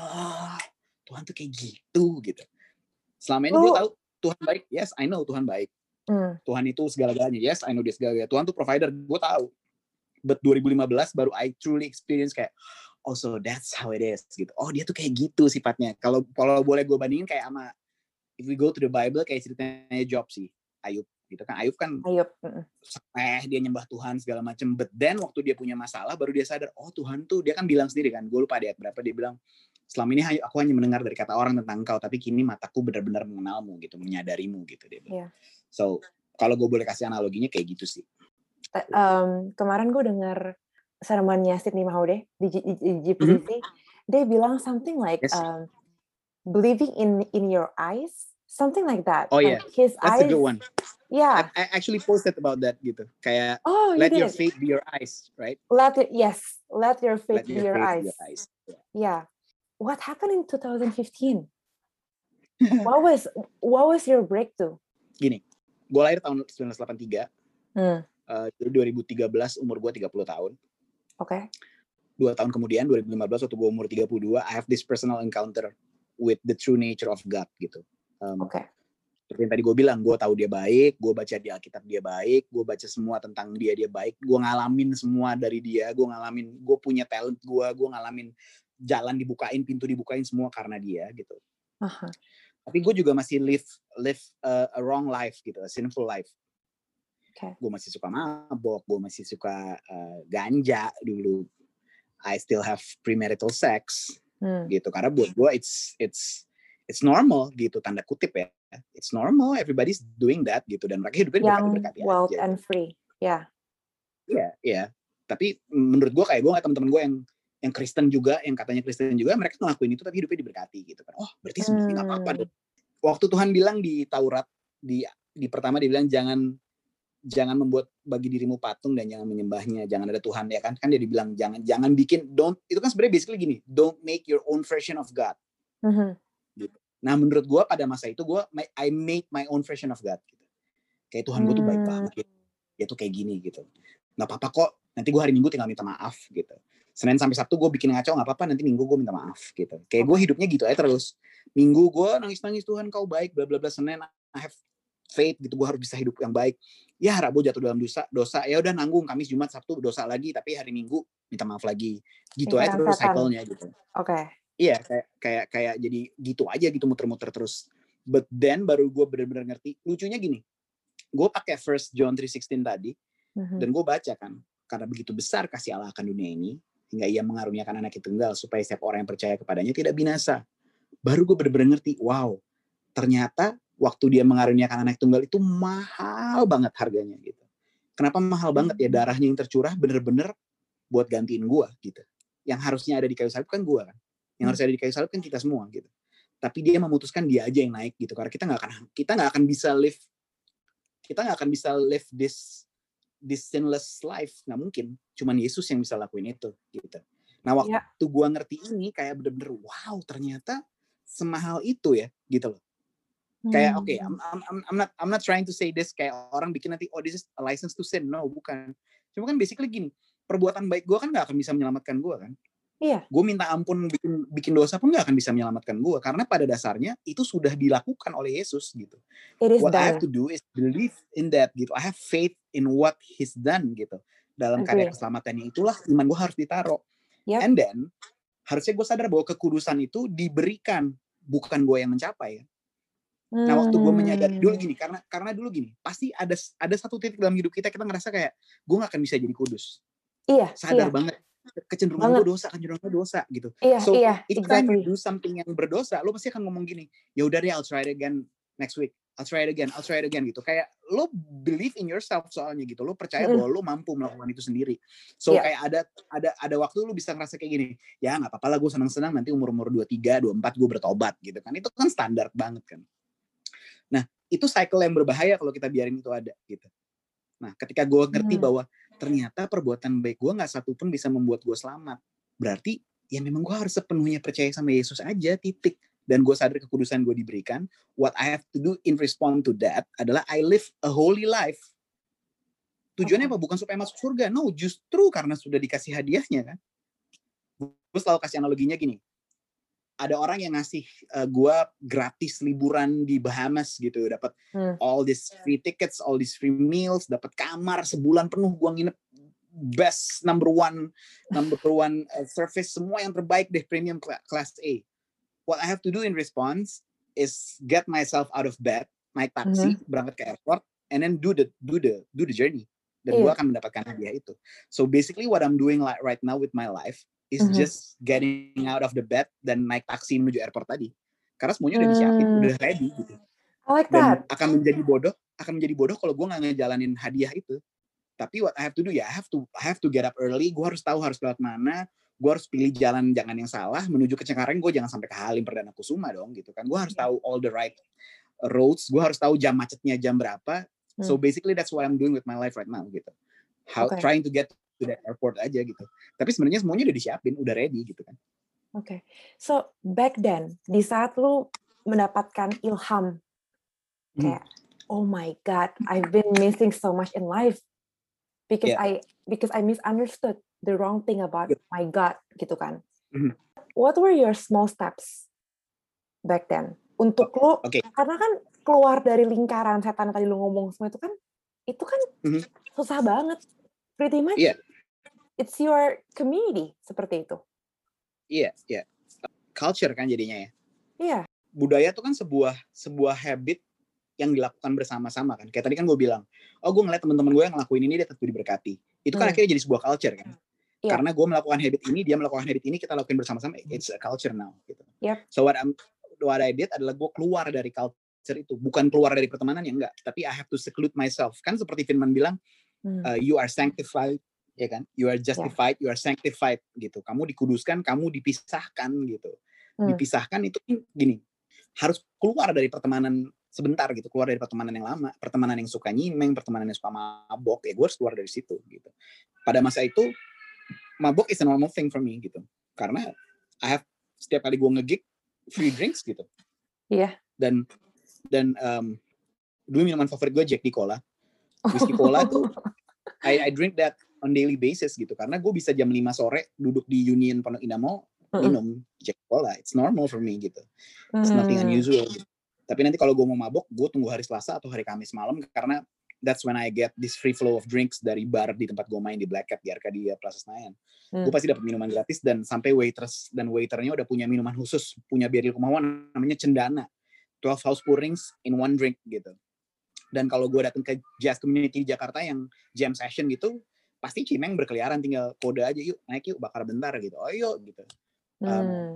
oh Tuhan tuh kayak gitu gitu. Selama ini oh. gue tahu Tuhan baik, yes I know Tuhan baik. Mm. Tuhan itu segala-galanya, yes I know dia segala-galanya. Tuhan tuh provider, gue tahu. But dua ribu lima belas baru I truly experience kayak, oh so that's how it is gitu. Oh dia tuh kayak gitu sifatnya. Kalau kalau boleh gue bandingin kayak sama, if we go to the Bible kayak ceritanya Job sih, Ayub. Gitu kan Ayub kan Ayub. eh dia nyembah Tuhan segala macam, but then waktu dia punya masalah baru dia sadar, oh Tuhan tuh, dia kan bilang sendiri kan, gue lupa di ayat berapa, dia bilang selama ini aku hanya mendengar dari kata orang tentang engkau, tapi kini mataku benar-benar mengenalmu gitu, menyadarimu gitu dia bilang. Yeah. So kalau gue boleh kasih analoginya kayak gitu sih. Um, kemarin gue dengar sermonnya Sydney Mahode di G P C, mm-hmm. dia bilang something like yes. um, believing in in your eyes, something like that. Oh yeah, like his that's eyes, a good one. Yeah, I, I actually posted about that gitu. Kayak oh, let you your faith be your eyes, right? Let it, yes, let your faith let be your, your, faith eyes. be your eyes. Yeah. yeah. What happened in twenty fifteen? what was what was your breakthrough? Gini, gue lahir tahun sembilan belas delapan puluh tiga. Hmm. Uh, jadi dua ribu tiga belas umur gue tiga puluh tahun. Oke. Okay. Dua tahun kemudian dua ribu lima belas waktu gue umur tiga puluh dua, I have this personal encounter with the true nature of God gitu. Um, Oke. Okay. Seperti yang tadi gue bilang, gue tahu dia baik, gue baca di Alkitab dia baik, gue baca semua tentang dia dia baik, gue ngalamin semua dari dia, gue ngalamin, gue punya talent gue, gue ngalamin jalan dibukain, pintu dibukain semua karena dia gitu. Uh-huh. Tapi gue juga masih live live uh, a wrong life gitu, a sinful life. Okay. Gue masih suka mabok, gue masih suka uh, ganja dulu. I still have premarital sex hmm. gitu. Karena buat gue it's it's it's normal gitu, tanda kutip ya. It's normal, everybody's doing that gitu, dan mereka hidupnya berkati-berkati aja. Wild and free, ya. Yeah. Iya, yeah, iya. Yeah. Tapi menurut gue kayak gue nggak teman-teman gue yang yang Kristen juga, yang katanya Kristen juga, mereka ngelakuin itu tapi hidupnya diberkati gitu kan. Oh, berarti sebenarnya nggak hmm. apa-apa dong. Waktu Tuhan bilang di Taurat, di di pertama dia bilang jangan jangan membuat bagi dirimu patung dan jangan menyembahnya, jangan ada Tuhan ya kan? Kan dia dibilang jangan jangan bikin, don't, itu kan sebenarnya basically gini, don't make your own version of God. Mm-hmm. Gitu. Nah menurut gue pada masa itu gue I made my own version of God gitu. Kayak Tuhan gue tuh baik banget gitu. Dia tuh kayak gini gitu. Nggak apa-apa kok, nanti gue hari Minggu tinggal minta maaf gitu. Senin sampai Sabtu gue bikin ngaco, nggak apa-apa, nanti Minggu gue minta maaf gitu. Kayak gue hidupnya gitu aja terus. Minggu gue nangis-nangis, Tuhan kau baik, bla bla bla. Senin I have faith gitu, gue harus bisa hidup yang baik. Ya Rabu jatuh dalam dosa, dosa ya udah nanggung, Kamis Jumat Sabtu dosa lagi, tapi hari Minggu minta maaf lagi. Gitu aja terus cycle-nya gitu. Oke. Okay. Iya, kayak kayak kayak jadi gitu aja gitu, muter-muter terus. But then baru gue benar-benar ngerti. Lucunya gini, gue pakai First John three sixteen tadi, mm-hmm. dan gue baca kan, karena begitu besar kasih Allah akan dunia ini, hingga ia mengaruniakan anak yang tunggal supaya setiap orang yang percaya kepadanya tidak binasa. Baru gue benar-benar ngerti, wow, ternyata waktu dia mengaruniakan anak tunggal itu mahal banget harganya gitu. Kenapa mahal banget ya? Darahnya yang tercurah bener-bener buat gantiin gue gitu. Yang harusnya ada di kayu salib kan gue kan. Yang harus ada di kayu salib kan kita semua gitu. Tapi dia memutuskan dia aja yang naik gitu. Karena kita nggak akan kita nggak akan bisa live kita nggak akan bisa live this this sinless life, nggak mungkin. Cuman Yesus yang bisa lakuin itu gitu. Nah waktu ya. gue ngerti ini kayak bener-bener wow ternyata semahal itu ya gitu loh. Kayak oke, okay, I'm, I'm, I'm not I'm not trying to say this kayak orang bikin nanti oh this is a license to sin, no bukan. Cuma kan basically gini, perbuatan baik gue kan nggak akan bisa menyelamatkan gue kan. Iya. Gue minta ampun bikin bikin dosa pun nggak akan bisa menyelamatkan gue karena pada dasarnya itu sudah dilakukan oleh Yesus gitu. What done. I have to do is believe in that gitu. I have faith in what He's done gitu. Dalam karya keselamatannya itulah iman gue harus ditaruh. Yep. And then harusnya gue sadar bahwa kekudusan itu diberikan, bukan gue yang mencapai ya. Nah waktu gue menyadari dulu gini, karena karena dulu gini, pasti ada ada satu titik dalam hidup kita kita ngerasa kayak gue nggak akan bisa jadi kudus. Iya. Sadar iya. banget kecenderungan gue dosa, kecenderungan gue dosa gitu. Iya, so iya, each exactly. time you do something yang berdosa, lo pasti akan ngomong gini, ya udah deh, I'll try it again next week. I'll try it again, I'll try it again gitu. Kayak lo believe in yourself soalnya gitu. Lo percaya mm-hmm. bahwa lo mampu melakukan itu sendiri. So yeah. kayak ada ada ada waktu lo bisa ngerasa kayak gini, ya nggak apa-apa lah gue senang-senang nanti umur-umur dua puluh tiga, dua puluh empat gue bertobat gitu kan. Itu kan standar banget kan. Nah, itu cycle yang berbahaya kalau kita biarin itu ada gitu. Nah, ketika gue ngerti hmm. bahwa ternyata perbuatan baik gue nggak satu pun bisa membuat gue selamat, berarti ya memang gue harus sepenuhnya percaya sama Yesus aja, titik. Dan gue sadar kekudusan gue diberikan. What I have to do in response to that adalah I live a holy life. Tujuannya okay. apa? Bukan supaya masuk surga. No, justru karena sudah dikasih hadiahnya kan. Gue selalu kasih analoginya gini. Ada orang yang ngasih uh, gue gratis liburan di Bahamas gitu, dapat hmm. all these free tickets, all these free meals, dapat kamar sebulan penuh gue nginep best number one number one uh, service, semua yang terbaik deh, premium class A. What I have to do in response is get myself out of bed, naik taksi, hmm. berangkat ke airport, and then do the do the do the journey. Dan yeah. gue akan mendapatkan hadiah itu. So basically what I'm doing like right now with my life is mm-hmm. just getting out of the bed dan naik taksi menuju airport tadi. Karena semuanya udah disiapin, mm. udah ready gitu. I like dan that. akan menjadi bodoh, akan menjadi bodoh kalau gue nggak ngejalanin hadiah itu. Tapi what I have to do ya, I have to I have to get up early. Gue harus tahu harus lewat mana. Gue harus pilih jalan jangan yang salah. Menuju ke Cengkareng gue jangan sampai ke Halim Perdana Kusuma dong gitu kan. Gue harus yeah. tahu all the right roads. Gue harus tahu jam macetnya jam berapa. Mm. So basically that's what I'm doing with my life right now gitu. How okay. trying to get to that airport aja gitu. Tapi sebenarnya semuanya udah disiapin, udah ready gitu kan. Oke. Okay. So back then, di saat lu mendapatkan ilham hmm. kayak oh my God, I've been missing so much in life because yeah. I because I misunderstood the wrong thing about yeah. my God gitu kan. Mm-hmm. What were your small steps back then untuk lu? Okay. Karena kan keluar dari lingkaran setan tadi lu ngomong semua itu kan, itu kan Mhm. susah banget. Pretty much, Iya. it's your community, seperti itu. Iya, iya. Culture kan jadinya ya. Iya. Budaya tuh kan sebuah sebuah habit yang dilakukan bersama-sama kan. Kayak tadi kan gue bilang, oh gue ngeliat teman-teman gue yang ngelakuin ini dia tetap diberkati. Itu kan Hmm. akhirnya jadi sebuah culture kan. Iya. Karena gue melakukan habit ini, dia melakukan habit ini, kita lakuin bersama-sama. It's a culture now. Gitu. Yep. So what, I'm, what I did adalah gue keluar dari culture itu. Bukan keluar dari pertemanan ya enggak. Tapi I have to seclude myself. Kan seperti Firman bilang, Hmm. uh, you are sanctified. Ya kan? You are justified, yeah. You are sanctified gitu. Kamu dikuduskan, kamu dipisahkan gitu. Hmm. Dipisahkan itu gini. Harus keluar dari pertemanan sebentar gitu, keluar dari pertemanan yang lama, pertemanan yang suka nyimeng, pertemanan yang suka mabok, ya gue harus keluar dari situ gitu. Pada masa itu mabok is a normal thing for me gitu, karena I have setiap kali gue nge-gig free drinks gitu. Iya. Yeah. Dan dan um, dulu minuman favorit gue Jack di Cola, whiskey cola tuh I, I drink that on daily basis gitu, karena gue bisa jam lima sore duduk di Union Pondok Indah Mall minum Jack Cola, it's normal for me gitu, it's nothing unusual gitu. Tapi nanti kalau gue mau mabok, gue tunggu hari Selasa atau hari Kamis malam, karena that's when I get this free flow of drinks dari bar di tempat gue main di Black Cat di Arcadia Plaza Senayan. Hmm. Gue pasti dapat minuman gratis, dan sampai waiters dan waiternya udah punya minuman khusus, punya Biril Kumawan namanya Cendana, twelve house pourings in one drink gitu. Dan kalau gue datang ke jazz community di Jakarta yang jam session gitu, pasti cimeng berkeliaran, tinggal kode aja, yuk naik yuk, bakar bentar gitu, oh yuk gitu. Um, hmm.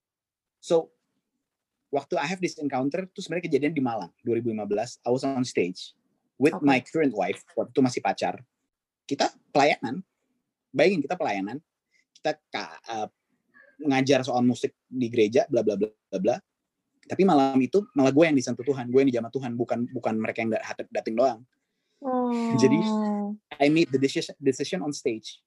So waktu I have this encounter tuh sebenarnya kejadian di Malang dua ribu lima belas. I was on stage with okay. my current wife, waktu itu masih pacar. Kita pelayanan, bayangin kita pelayanan, kita uh, ngajar soal musik di gereja, bla bla bla bla. Tapi malam itu malah gue yang disentuh Tuhan, gue yang dijamah Tuhan, bukan bukan mereka yang dating doang. Oh. Jadi I made the decision, decision on stage.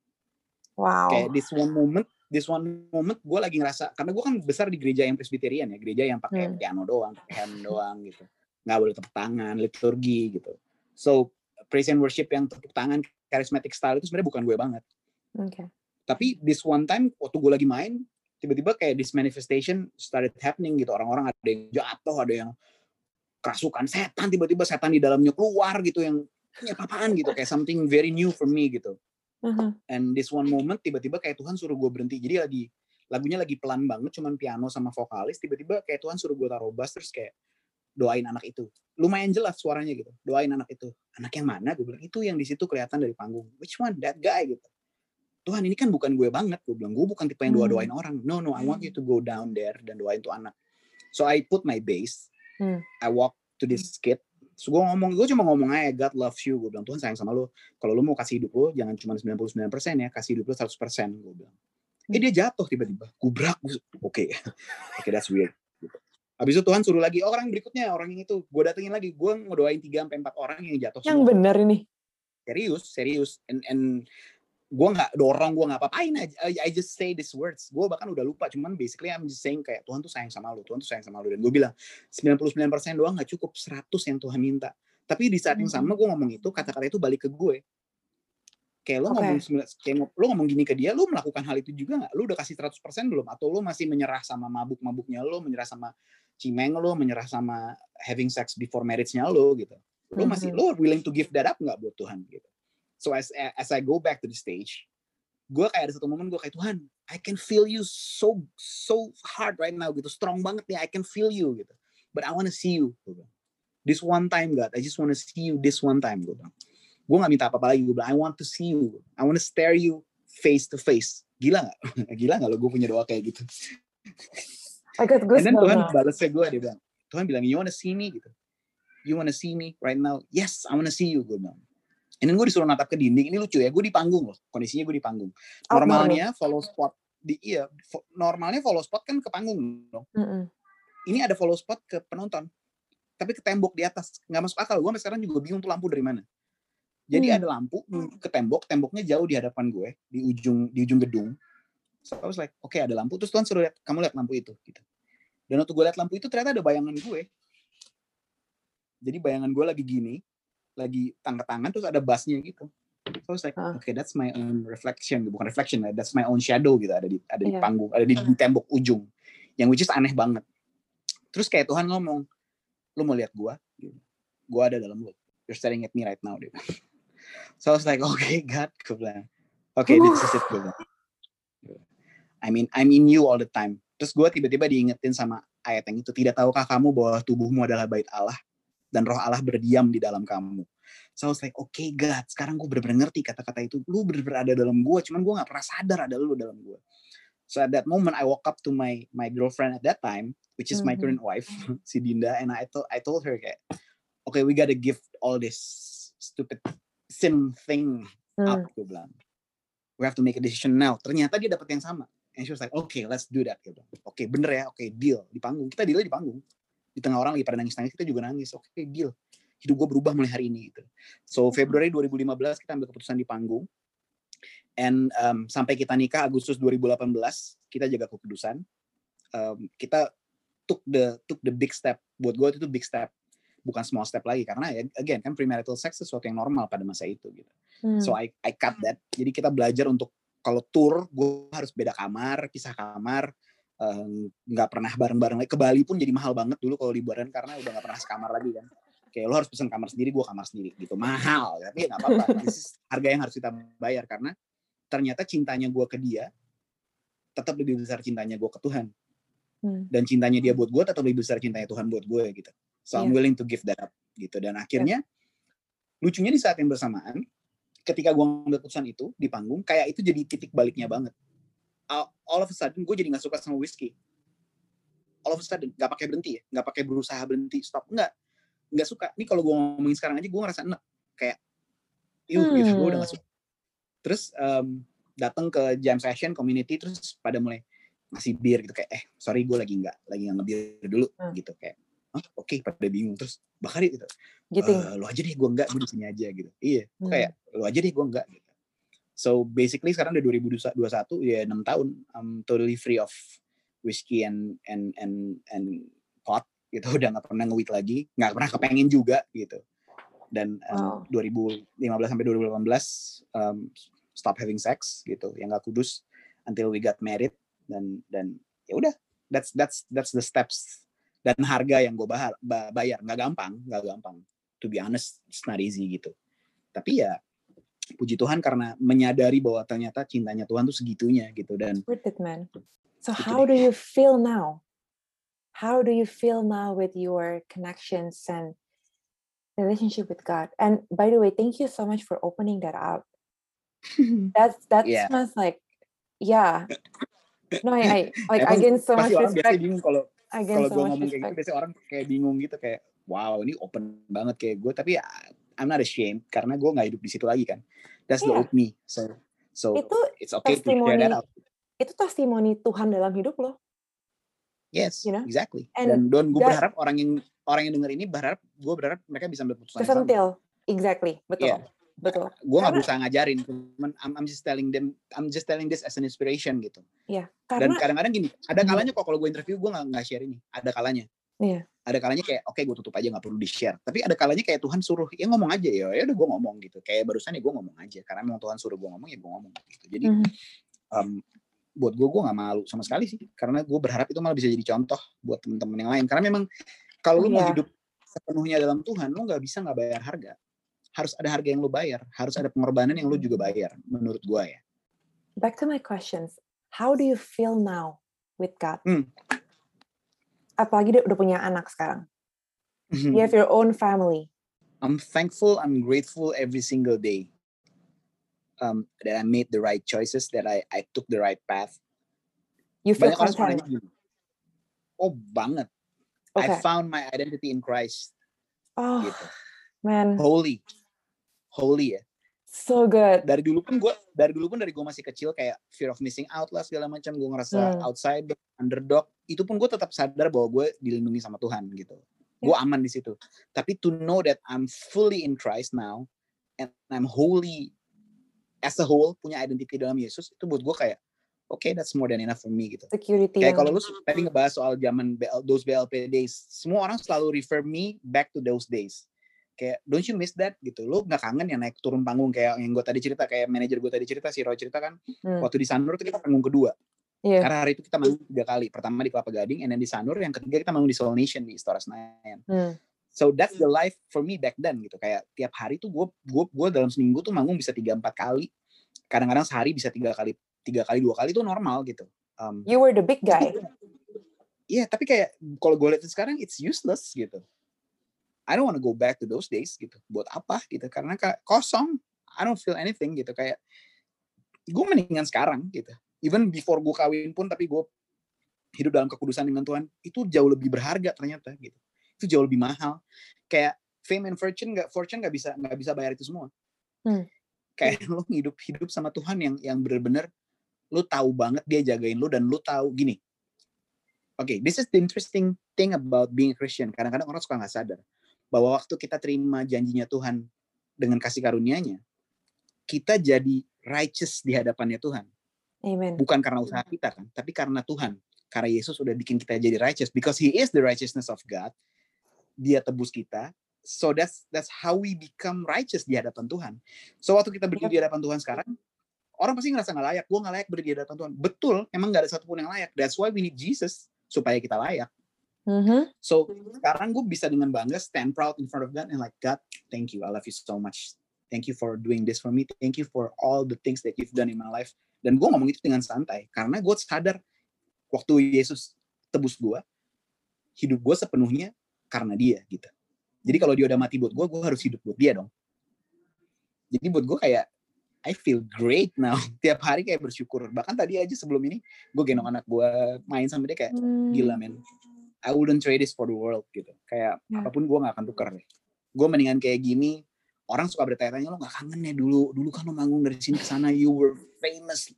Wow. Kayak this one moment. This one moment gue lagi ngerasa, karena gue kan besar di gereja yang Presbyterian ya, gereja yang pakai hmm. piano doang, pakai hand doang gitu, nggak boleh tepuk tangan, liturgi gitu. So praise and worship yang tepuk tangan, charismatic style itu sebenarnya bukan gue banget. Okay. Tapi this one time waktu gue lagi main, tiba-tiba kayak this manifestation started happening gitu. Orang-orang ada yang jatuh, ada yang kerasukan setan, tiba-tiba setan di dalamnya keluar gitu, yang ini apaan gitu, kayak something very new for me gitu. Uh-huh. And this one moment tiba-tiba kayak Tuhan suruh gue berhenti. Jadi lagi lagunya lagi pelan banget, cuman piano sama vokalis. Tiba-tiba kayak Tuhan suruh gue taruh bass, terus kayak doain anak itu. Lumayan jelas suaranya gitu. Doain anak itu. Anak yang mana? Gue bilang itu yang di situ kelihatan dari panggung. Which one? That guy gitu. Tuhan ini kan bukan gue banget. Gue bilang gue bukan tipe yang doa-doain hmm. orang. No no, I want you to go down there dan doain tuh anak. So I put my bass. Hmm. I walk to this kid. So, gue ngomong, gue cuma ngomong aja, God loves you. Gue bilang, Tuhan sayang sama lo. Kalau lo mau kasih hidup lo, jangan cuma sembilan puluh sembilan persen ya, kasih hidup lo seratus persen. Gue bilang. Eh dia jatuh tiba-tiba. Gubrak. Oke. Okay. Oke, okay, that's weird. Habis itu Tuhan suruh lagi, oh, orang berikutnya, orang yang itu. Gue datengin lagi. Gue ngedoain tiga sampai empat orang yang jatuh. Yang semua. Benar ini. Serius, serius. And, and gue gak dorong, gue gak apa-apain aja. I just say these words. Gue bahkan udah lupa. Cuman basically I'm just saying kayak Tuhan tuh sayang sama lu. Tuhan tuh sayang sama lu. Dan gue bilang sembilan puluh sembilan persen doang gak cukup. seratus yang Tuhan minta. Tapi di saat yang sama gue ngomong itu, kata-kata itu balik ke gue. Kayak lo, okay. ngomong, kayak lo ngomong gini ke dia, lo melakukan hal itu juga gak? Lo udah kasih seratus persen belum? Atau lo masih menyerah sama mabuk-mabuknya lo, menyerah sama cimeng lo, menyerah sama having sex before marriage-nya lo gitu. Lo masih, mm-hmm. lo willing to give that up gak buat Tuhan gitu. So as as I go back to the stage, gue kayak ada satu momen gue kayak, Tuhan, I can feel you so so hard right now gitu, strong banget nih, I can feel you gitu. But I want to see you. Gitu. This one time, God, I just want to see you this one time. Gue bilang, gue nggak minta apa-apa lagi. Gue bilang, I want to see you, I want to stare you face to face. Gila nggak? Gila nggak lo gue punya doa kayak gitu? I got goosebumps. And then Tuhan balasnya gue, dia bilang, Tuhan bilang, you want to see me gitu? You want to see me right now? Yes, I want to see you. Gue bilang. And then gue disuruh natap ke dinding. Ini lucu ya, gue di panggung loh. Kondisinya gue di panggung. Normalnya follow spot di iya, normalnya follow spot kan ke panggung loh. Mm-hmm. Ini ada follow spot ke penonton, tapi ke tembok di atas. Nggak masuk akal. Gue sampai sekarang juga bingung tuh lampu dari mana. Jadi mm. ada lampu ke tembok, temboknya jauh di hadapan gue, di ujung di ujung gedung. So I was like, oke okay, ada lampu. Terus Tuhan suruh lihat, kamu lihat lampu itu. Gitu. Dan waktu gue lihat lampu itu ternyata ada bayangan gue. Jadi bayangan gue lagi gini. Lagi tangga-tangan terus ada bassnya gitu. So I was like, huh. okay, that's my own reflection, bukan reflection, that's my own shadow gitu, ada di ada di yeah. panggung, ada di, di tembok ujung, yang which is aneh banget. Terus kayak Tuhan ngomong, lu mau lihat gue, gue ada dalam lu, you're staring at me right now, dia. So I was like, okay God, gue bilang, okay this is it, gue bilang. I mean, I'm in you all the time. Terus gue tiba-tiba diingetin sama ayat yang itu, tidak tahukah kamu bahwa tubuhmu adalah bait Allah dan roh Allah berdiam di dalam kamu. So I was like, okay God, sekarang gue bener-bener ngerti kata-kata itu, lu bener-bener ada dalam gue, cuman gue gak pernah sadar ada lu dalam gue. So at that moment I woke up to my my girlfriend at that time, which is mm-hmm. my current wife, si Dinda, and I told I told her kayak, okay, we gotta give all this stupid sin thing mm. up, gue bilang. We have to make a decision now. Ternyata dia dapat yang sama. And she was like, okay, let's do that. Oke, okay, bener ya, oke, okay, deal. Di panggung, kita deal di panggung. Di tengah orang lagi pada nangis-nangis, kita juga nangis. Oke, okay, deal. Hidup gue berubah mulai hari ini. Gitu. So, Februari dua ribu lima belas kita ambil keputusan di panggung. And um, sampai kita nikah Agustus dua ribu delapan belas, kita jaga kekudusan. Um, kita took the took the big step. Buat gue itu big step. Bukan small step lagi. Karena, again, kan premarital sex sesuatu yang normal pada masa itu. Gitu. Hmm. So, I, I cut that. Jadi kita belajar untuk kalau tour, gue harus beda kamar, pisah kamar, nggak um, pernah bareng-bareng lagi. Ke Bali pun jadi mahal banget dulu kalau liburan karena udah nggak pernah sekamar lagi kan. Kayak lo harus pesen kamar sendiri, gue kamar sendiri gitu, mahal. Tapi ya nggak apa-apa. This is harga yang harus kita bayar karena ternyata cintanya gue ke dia tetap lebih besar cintanya gue ke Tuhan. Hmm. Dan cintanya dia buat gue tetap lebih besar cintanya Tuhan buat gue gitu. So yeah. I'm willing to give that up gitu. Dan akhirnya yeah. lucunya di saat yang bersamaan, ketika gue ngambil keputusan itu di panggung, kayak itu jadi titik baliknya banget. All of a sudden, gue jadi nggak suka sama whiskey. All of a sudden, nggak pakai berhenti ya, nggak pakai berusaha berhenti, stop, nggak, nggak suka. Ini kalau gue ngomongin sekarang aja, gue ngerasa enak, kayak, iuh, hmm. gitu, gue udah nggak suka. Terus um, datang ke jam session community, terus pada mulai ngasih bir gitu, kayak, eh, sorry, gue lagi nggak, lagi nggak ngebir dulu, hmm. gitu, kayak. Oh, oke, okay, pada bingung. Terus bakal gitu, gitu. Uh, lo aja deh, gue enggak, gue di sini aja gitu. Iya, hmm. kayak lo aja deh, gue enggak gitu. So basically sekarang udah dua ribu dua puluh satu ya enam tahun, I'm totally free of whiskey and and and and pot gitu, udah nggak pernah nge-weed lagi, nggak pernah kepengen juga gitu. Dan um, wow. dua ribu lima belas sampai dua ribu delapan belas um, stop having sex gitu, yang nggak kudus until we got married dan dan ya udah, that's that's that's the steps. Dan harga yang gue bayar nggak gampang, nggak gampang. To be honest, it's not easy gitu. Tapi ya puji Tuhan karena menyadari bahwa ternyata cintanya Tuhan tuh segitunya gitu dan. Worth it, man. So gitu how deh. do you feel now? How do you feel now with your connections and relationship with God? And by the way, thank you so much for opening that up. That's that's yeah. Smells like yeah. No, I, I like I gain so much respect. Kalau kalau gue ngomong kayak gitu, biasanya orang kayak bingung gitu, kayak wow ini open banget kayak gue, tapi ya, I'm not ashamed karena gue nggak hidup di situ lagi kan. That's yeah. the old me. So so itu it's okay to share that out. Itu testimoni Tuhan dalam hidup lo. Yes, you know? Exactly. And dan gue berharap orang yang orang yang denger ini berharap gue berharap mereka bisa ambil keputusan yang sama. Exactly, betul. Yeah. Betul. Gue nggak berusaha ngajarin, cuman I'm, I'm just telling them, I'm just telling this as an inspiration gitu. Iya. Karena, dan kadang-kadang gini, ada kalanya kok kalau gue interview gue nggak nggak share ini, ada kalanya. Iya. Ada kalanya kayak, oke okay, gue tutup aja nggak perlu di share. Tapi ada kalanya kayak Tuhan suruh, ya ngomong aja ya, ya udah gue ngomong gitu. Kayak barusan ya gue ngomong aja, karena memang Tuhan suruh gue ngomong ya gue ngomong gitu. Jadi mm-hmm. um, buat gue gue nggak malu sama sekali sih, karena gue berharap itu malah bisa jadi contoh buat teman-teman yang lain. Karena memang kalau oh, lu yeah. mau hidup sepenuhnya dalam Tuhan, lu nggak bisa nggak bayar harga. Harus ada harga yang lu bayar, harus ada pengorbanan yang lu juga bayar, menurut gue ya. Back to my questions, how do you feel now with God? Hmm. Apalagi dia udah punya anak sekarang. Mm-hmm. You have your own family. I'm thankful, I'm grateful every single day um, that I made the right choices, that I I took the right path. You feel content? Oh banget. Okay. I found my identity in Christ. Oh, gitu. Man. Holy. Holy ya. So good. Dari dulu pun gue, dari dulu pun dari gue masih kecil kayak fear of missing out lah segala macam, gue ngerasa hmm. outside, underdog. Itu pun gue tetap sadar bahwa gue dilindungi sama Tuhan gitu. Yeah. Gue aman di situ. Tapi to know that I'm fully in Christ now and I'm holy as a whole, punya identity dalam Yesus, itu buat gue kayak oke, okay, that's more than enough for me gitu. Security. Kayak kalau lu tadi ngebahas soal zaman those B L P days, semua orang selalu refer me back to those days. Kayak, don't you miss that gitu? Lu nggak kangen ya naik turun panggung kayak yang gue tadi cerita, kayak manajer gue tadi cerita, si Roy cerita kan, hmm. waktu di Sanur tuh kita panggung kedua. Iya. Karena hari itu kita manggung tiga kali. Pertama di Kelapa Gading, and then di Sanur. Yang ketiga kita manggung di Soul Nation di Istora Senayan. Hmm. So that's the life for me back then gitu. Kayak tiap hari tuh gue gue gue dalam seminggu tuh manggung bisa tiga empat kali. Kadang-kadang sehari bisa tiga kali tiga kali dua kali tuh normal gitu. Um, You were the big guy. Iya, yeah, tapi kayak kalau gue lihat sekarang it's useless gitu. I don't want to go back to those days gitu. Buat apa gitu? Karena kayak kosong. I don't feel anything gitu. Kayak gue mendingan sekarang gitu. Even before gue kawin pun, tapi gue hidup dalam kekudusan dengan Tuhan, itu jauh lebih berharga ternyata gitu. Itu jauh lebih mahal. Kayak fame and fortune nggak fortune nggak bisa nggak bisa bayar itu semua. Hmm. Kayak lo hidup hidup sama Tuhan yang yang benar-benar lo tahu banget dia jagain lo, dan lo tahu gini. Oke, okay, this is the interesting thing about being a Christian. Kadang-kadang orang suka nggak sadar bahwa waktu kita terima janjinya Tuhan dengan kasih karunia-Nya, kita jadi righteous di hadapannya Tuhan. Amen. Bukan karena usaha kita kan, tapi karena Tuhan. Karena Yesus udah bikin kita jadi righteous, because He is the righteousness of God. Dia tebus kita. So that's that's how we become righteous di hadapan Tuhan. So waktu kita berdiri di hadapan Tuhan sekarang, orang pasti ngerasa nggak layak. Gue nggak layak berdiri di hadapan Tuhan. Betul, emang nggak ada satupun yang layak. That's why we need Jesus, supaya kita layak. Mm-hmm. So sekarang gue bisa dengan bangga stand proud in front of God and like, God, thank you, I love you so much. Thank you for doing this for me. Thank you for all the things that you've done in my life. Dan gue ngomong itu dengan santai. Karena gue sadar waktu Yesus tebus gue, hidup gue sepenuhnya karena dia gitu. Jadi kalau dia udah mati buat gue, gue harus hidup buat dia dong. Jadi buat gue kayak, I feel great now. Tiap hari kayak bersyukur. Bahkan tadi aja sebelum ini, gue gendong anak gue main sama dia kayak, gila men. I wouldn't trade this for the world gitu. Kayak yeah. apapun gue gak akan tukar deh. Gue mendingan kayak gini. Orang suka bertanya-tanya, lo gak kangen ya dulu? Dulu kan lo manggung dari sini ke sana, you were famous.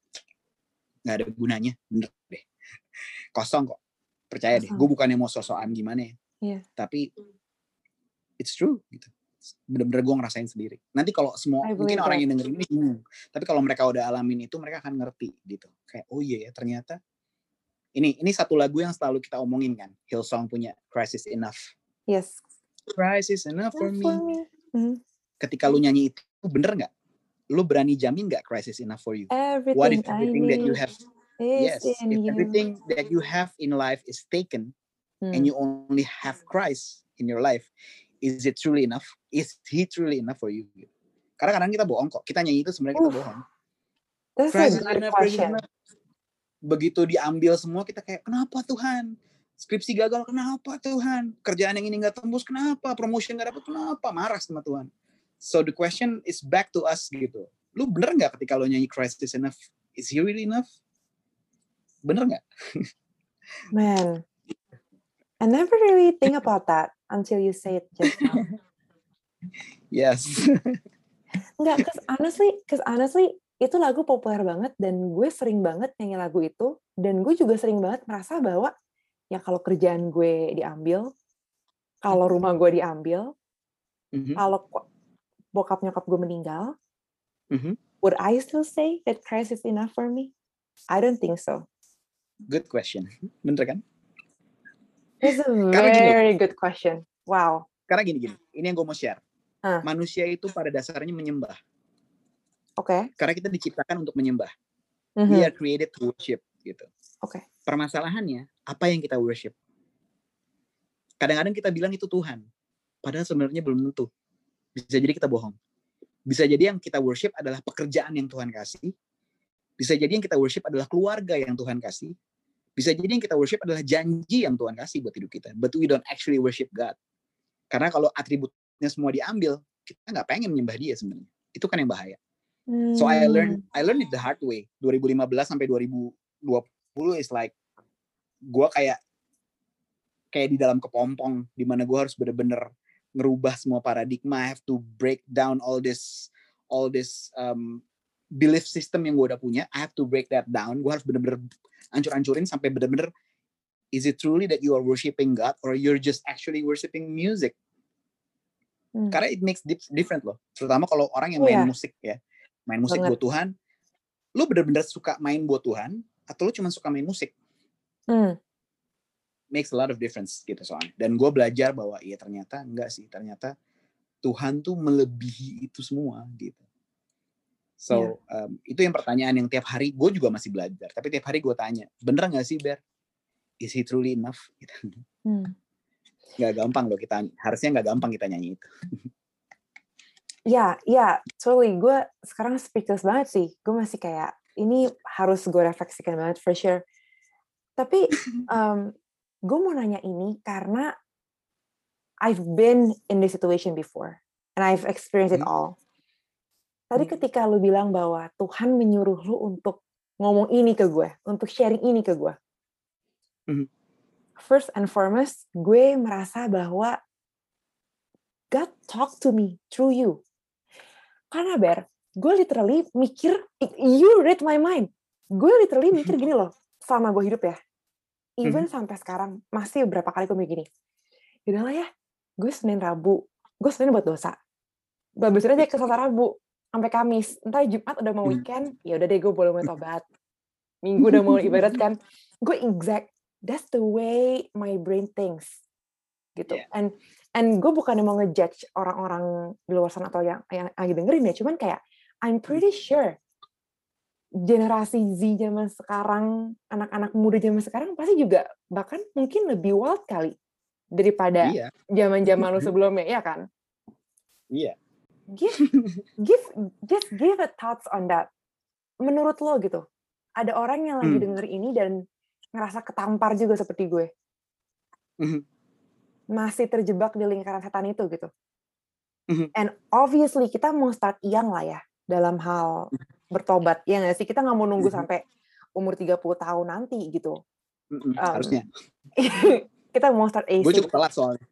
Gak ada gunanya, bener deh. Kosong kok. Percaya Kosong. deh, gue bukannya mau sosokan gimana ya. Yeah. Tapi it's true gitu. Bener-bener gue ngerasain sendiri. Nanti kalau semua, mungkin that. orang yang dengerin ini bingung. Tapi kalau mereka udah alamin itu, mereka akan ngerti gitu. Kayak, oh iya ya ternyata. Ini ini satu lagu yang selalu kita omongin kan. Hillsong punya, Christ is Enough. Yes. Christ is enough for me. For me. Mm-hmm. Ketika lu nyanyi itu, bener gak? Lu berani jamin gak Christ is enough for you? Everything What if everything that you have, yes, if you. everything that you have in life is taken, hmm. and you only have Christ in your life, is it truly enough? Is He truly enough for you? Karena kadang kita bohong kok. Kita nyanyi itu sebenarnya kita bohong. That's Christ a good enough, question. Begitu diambil semua, kita kayak, kenapa Tuhan? Skripsi gagal, kenapa Tuhan? Kerjaan yang ini gak tembus, kenapa? Promotion gak dapet, kenapa? Marah sama Tuhan. So the question is back to us gitu. Lu bener gak ketika lo nyanyi Christ is enough? Is He really enough? Bener gak? Man, I never really think about that until you say it just now. Yes. Enggak, cause honestly, cause honestly, itu lagu populer banget dan gue sering banget nyanyi lagu itu, dan gue juga sering banget merasa bahwa ya kalau kerjaan gue diambil, kalau rumah gue diambil, mm-hmm. kalau bokap nyokap gue meninggal, mm-hmm. would I still say that Christ is enough for me? I don't think so. Good question. Bener kan? It's a very good question. Wow. Karena gini-gini, ini yang gue mau share. Huh. Manusia itu pada dasarnya menyembah. Oke. Okay. Karena kita diciptakan untuk menyembah. Mm-hmm. We are created to worship gitu. Oke. Okay. Permasalahannya, apa yang kita worship? Kadang-kadang kita bilang itu Tuhan. Padahal sebenarnya belum tentu. Bisa jadi kita bohong. Bisa jadi yang kita worship adalah pekerjaan yang Tuhan kasih. Bisa jadi yang kita worship adalah keluarga yang Tuhan kasih. Bisa jadi yang kita worship adalah janji yang Tuhan kasih buat hidup kita. But we don't actually worship God. Karena kalau atributnya semua diambil, kita nggak pengen menyembah Dia sebenarnya. Itu kan yang bahaya. Hmm. So I learned, I learned it the hard way. dua ribu lima belas sampai dua ribu dua puluh is like, gue kayak kayak di dalam kepompong, di mana gue harus bener-bener ngerubah semua paradigma. I have to break down all this, all this um, belief system yang gue udah punya. I have to break that down. Gue harus bener-bener ancur-ancurin sampai bener-bener, is it truly that you are worshiping God or you're just actually worshiping music? Hmm. Karena it makes different loh. Terutama kalau orang yang main yeah. musik ya. Main musik Banget. buat Tuhan. Lu bener-bener suka main buat Tuhan atau lu cuma suka main musik? Hmm. Makes a lot of difference gitu soalnya. Dan gue belajar bahwa iya ternyata enggak sih. Ternyata Tuhan tuh melebihi itu semua gitu. So yeah. um, itu yang pertanyaan yang tiap hari gue juga masih belajar. Tapi tiap hari gue tanya, bener nggak sih Ber? Is he truly enough? Gitu. Hmm. Gak gampang loh kita, harusnya nggak gampang kita nyanyi itu. Ya, ya, totally. Gue sekarang speechless banget sih. Gue masih kayak, ini harus gue refleksikan banget, for sure. Tapi, um, gue mau nanya ini karena I've been in this situation before. And I've experienced it all. Tadi ketika lu bilang bahwa Tuhan menyuruh lu untuk ngomong ini ke gue, untuk sharing ini ke gue. First and foremost, gue merasa bahwa God talk to me through you. Karena Ber, gue literally mikir, you read my mind. Gue literally mikir gini loh, selama gue hidup ya. Even mm-hmm. sampai sekarang, masih beberapa kali gue mikir gini. Yaudahlah ya, gue Senin Rabu, gue Senin buat dosa. Bagusin aja ke Selasa Rabu, sampai Kamis. Entar Jumat udah mau weekend, ya udah deh gue boleh mau tobat. Minggu udah mau ibadat kan. Gue exact, that's the way my brain thinks. Gitu. Yeah. And And gue bukan mau ngejudge orang-orang di luar sana atau yang yang lagi dengerin ya, cuman kayak I'm pretty sure generasi Z zaman sekarang, anak-anak muda zaman sekarang pasti juga bahkan mungkin lebih wild kali daripada iya. zaman-zaman lu sebelumnya, ya kan? Iya. Give, give, just give a thoughts on that. Menurut lo gitu, ada orang yang lagi hmm. denger ini dan ngerasa ketampar juga seperti gue. Mm-hmm. Masih terjebak di lingkaran setan itu gitu. Mm-hmm. And obviously kita mau start young lah ya dalam hal bertobat. Ya nggak sih? Kita nggak mau nunggu mm-hmm. sampai umur tiga puluh tahun nanti gitu. Mm-hmm. Um, Harusnya. Kita mau start A C. Gue cukup telat soalnya.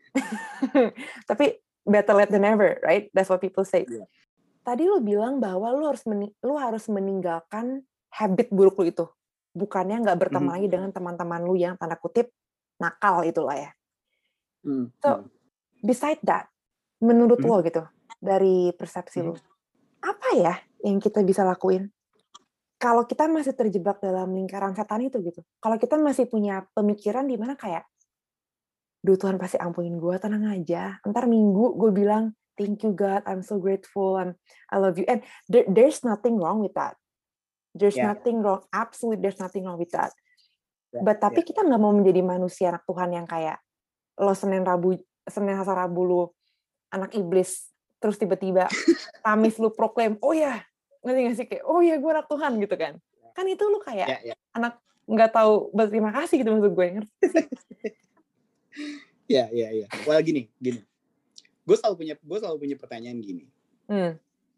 Tapi better late than never, right? That's what people say. Yeah. Tadi lu bilang bahwa lu harus meni- lu harus meninggalkan habit buruk lu itu. Bukannya nggak berteman mm-hmm. lagi dengan teman-teman lu yang tanda kutip nakal itulah ya. So, beside that, menurut hmm. lo gitu, dari persepsi hmm. lo, apa ya yang kita bisa lakuin? Kalau kita masih terjebak dalam lingkaran setan itu gitu, kalau kita masih punya pemikiran di mana kayak, duh Tuhan pasti ampunin gue, tenang aja. Ntar minggu gue bilang, thank you God, I'm so grateful, I'm, I love you. And there, there's nothing wrong with that. There's yeah. nothing wrong, absolutely there's nothing wrong with that. Yeah. But tapi yeah. kita nggak mau menjadi manusia anak Tuhan yang kayak, lo Senin Rabu Senin Selasa Rabu lu anak iblis, terus tiba-tiba Kamis lu proklaim, oh ya, ngerti nggak sih kayak, oh ya gue anak Tuhan gitu kan? Kan itu lu kayak yeah, yeah. anak nggak tahu berterima kasih gitu maksud gue, ngerti sih? Ya ya ya. Well gini gini, gue selalu punya gue selalu punya pertanyaan gini. Hmm.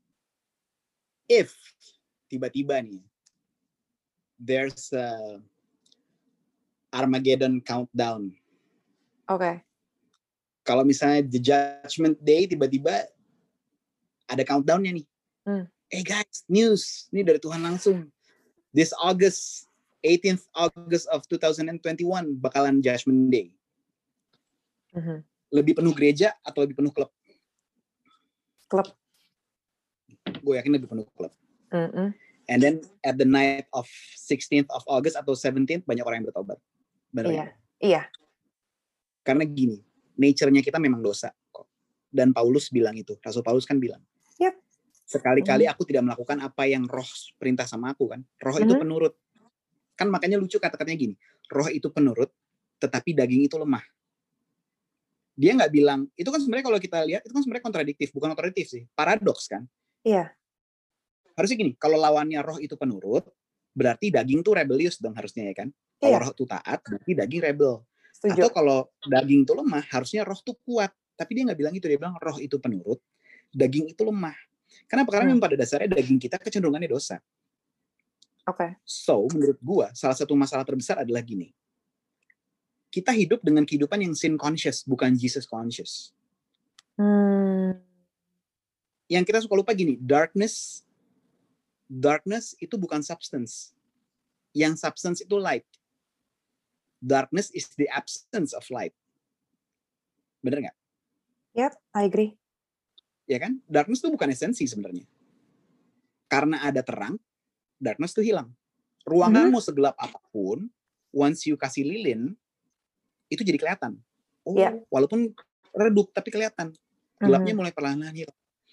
If tiba-tiba nih, there's a Armageddon countdown. Oke. Okay. Kalau misalnya the Judgment Day tiba-tiba ada countdown-nya nih. Hmm. Hey guys, news. Ini dari Tuhan langsung. This August, eighteenth August of twenty twenty-one bakalan Judgment Day. Mm-hmm. Lebih penuh gereja atau lebih penuh klub? Klub. Gue yakin lebih penuh klub. Mm-hmm. And then at the night of sixteenth of August atau seventeenth banyak orang yang bertobat. Benar iya. Ya? Iya. Karena gini, nature-nya kita memang dosa kok. Dan Paulus bilang itu, Rasul Paulus kan bilang, yep. sekali-kali aku tidak melakukan apa yang roh perintah sama aku kan. Roh mm-hmm. itu penurut. Kan makanya lucu kata-katanya gini, roh itu penurut, tetapi daging itu lemah. Dia nggak bilang, itu kan sebenarnya kalau kita lihat, itu kan sebenarnya kontradiktif, bukan kontradiktif sih, paradoks kan. Iya. Harusnya gini, kalau lawannya roh itu penurut, berarti daging tuh rebellious dong harusnya ya kan. Kalau iya. roh itu taat, berarti daging rebel. Setuju. Atau kalau daging itu lemah, harusnya roh itu kuat. Tapi dia nggak bilang itu, dia bilang roh itu penurut, daging itu lemah. Kenapa? Karena hmm. memang pada dasarnya daging kita kecenderungannya dosa. Oke. Okay. So, menurut gua, salah satu masalah terbesar adalah gini. Kita hidup dengan kehidupan yang sin conscious, bukan Jesus conscious. Hmm. Yang kita suka lupa gini, darkness, darkness itu bukan substance. Yang substance itu light. Darkness is the absence of light. Bener nggak? Yep, I agree. Ya kan? Darkness itu bukan esensi sebenarnya. Karena ada terang, darkness itu hilang. Ruangan mm-hmm. mau segelap apapun, once you kasih lilin, itu jadi kelihatan. Oh, yeah. Walaupun redup tapi kelihatan. Gelapnya mm-hmm. mulai perlahan-lahan hilang.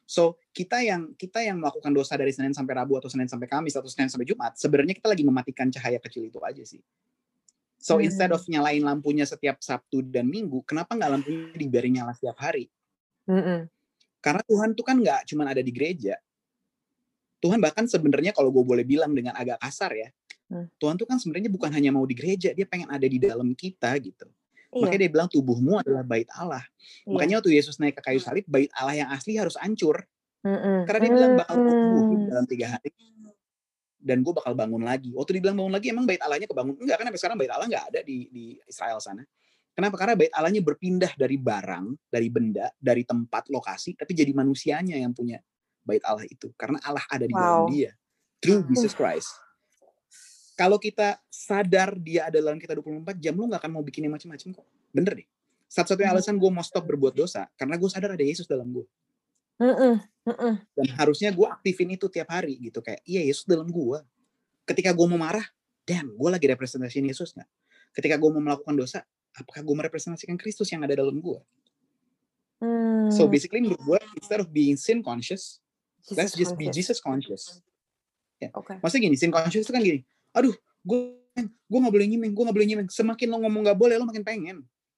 So kita yang kita yang melakukan dosa dari Senin sampai Rabu atau Senin sampai Kamis atau Senin sampai Jumat, sebenarnya kita lagi mematikan cahaya kecil itu aja sih. So Hmm. instead of nyalain lampunya setiap Sabtu dan Minggu, kenapa nggak lampunya dibiarin nyala setiap hari? Mm-mm. Karena Tuhan tuh kan nggak cuma ada di gereja. Tuhan bahkan sebenarnya kalau gue boleh bilang dengan agak kasar ya, Hmm. Tuhan tuh kan sebenarnya bukan hanya mau di gereja, dia pengen ada di dalam kita gitu. Iya. Makanya dia bilang tubuhmu adalah bait Allah. Iya. Makanya waktu Yesus naik ke kayu salib, bait Allah yang asli harus hancur. Mm-mm. Karena dia bilang bakal gue tubuhin Mm. dalam tiga hari. Dan gue bakal bangun lagi. Waktu dibilang bangun lagi, emang bait Allahnya kebangun? Enggak, kan sampai sekarang bait Allah nggak ada di, di Israel sana. Kenapa? Karena bait Allahnya berpindah dari barang, dari benda, dari tempat, lokasi, tapi jadi manusianya yang punya bait Allah itu. Karena Allah ada di dalam Wow. dia. Through Jesus Christ. Kalau kita sadar dia ada dalam kita dua puluh empat jam, lu gak akan mau bikin yang macam-macam kok. Bener deh. Satu-satunya alasan gue mau stop berbuat dosa, karena gue sadar ada Yesus dalam gue. Mm-mm. Mm-mm. Dan harusnya gue aktifin itu tiap hari gitu. Kayak, iya Yesus dalam gue. Ketika gue mau marah, damn, gue lagi representasiin Yesus gak? Ketika gue mau melakukan dosa, apakah gue merepresentasikan Kristus yang ada dalam gue? Mm. So basically menurut gue, instead of being sin conscious, Jesus let's just be conscious. Jesus conscious. Ya. Oke. Maksudnya gini, sin conscious itu kan gini, aduh, gue gue nggak boleh nyimeng, gue nggak boleh nyimeng. Semakin lo ngomong nggak boleh, lo makin pengen.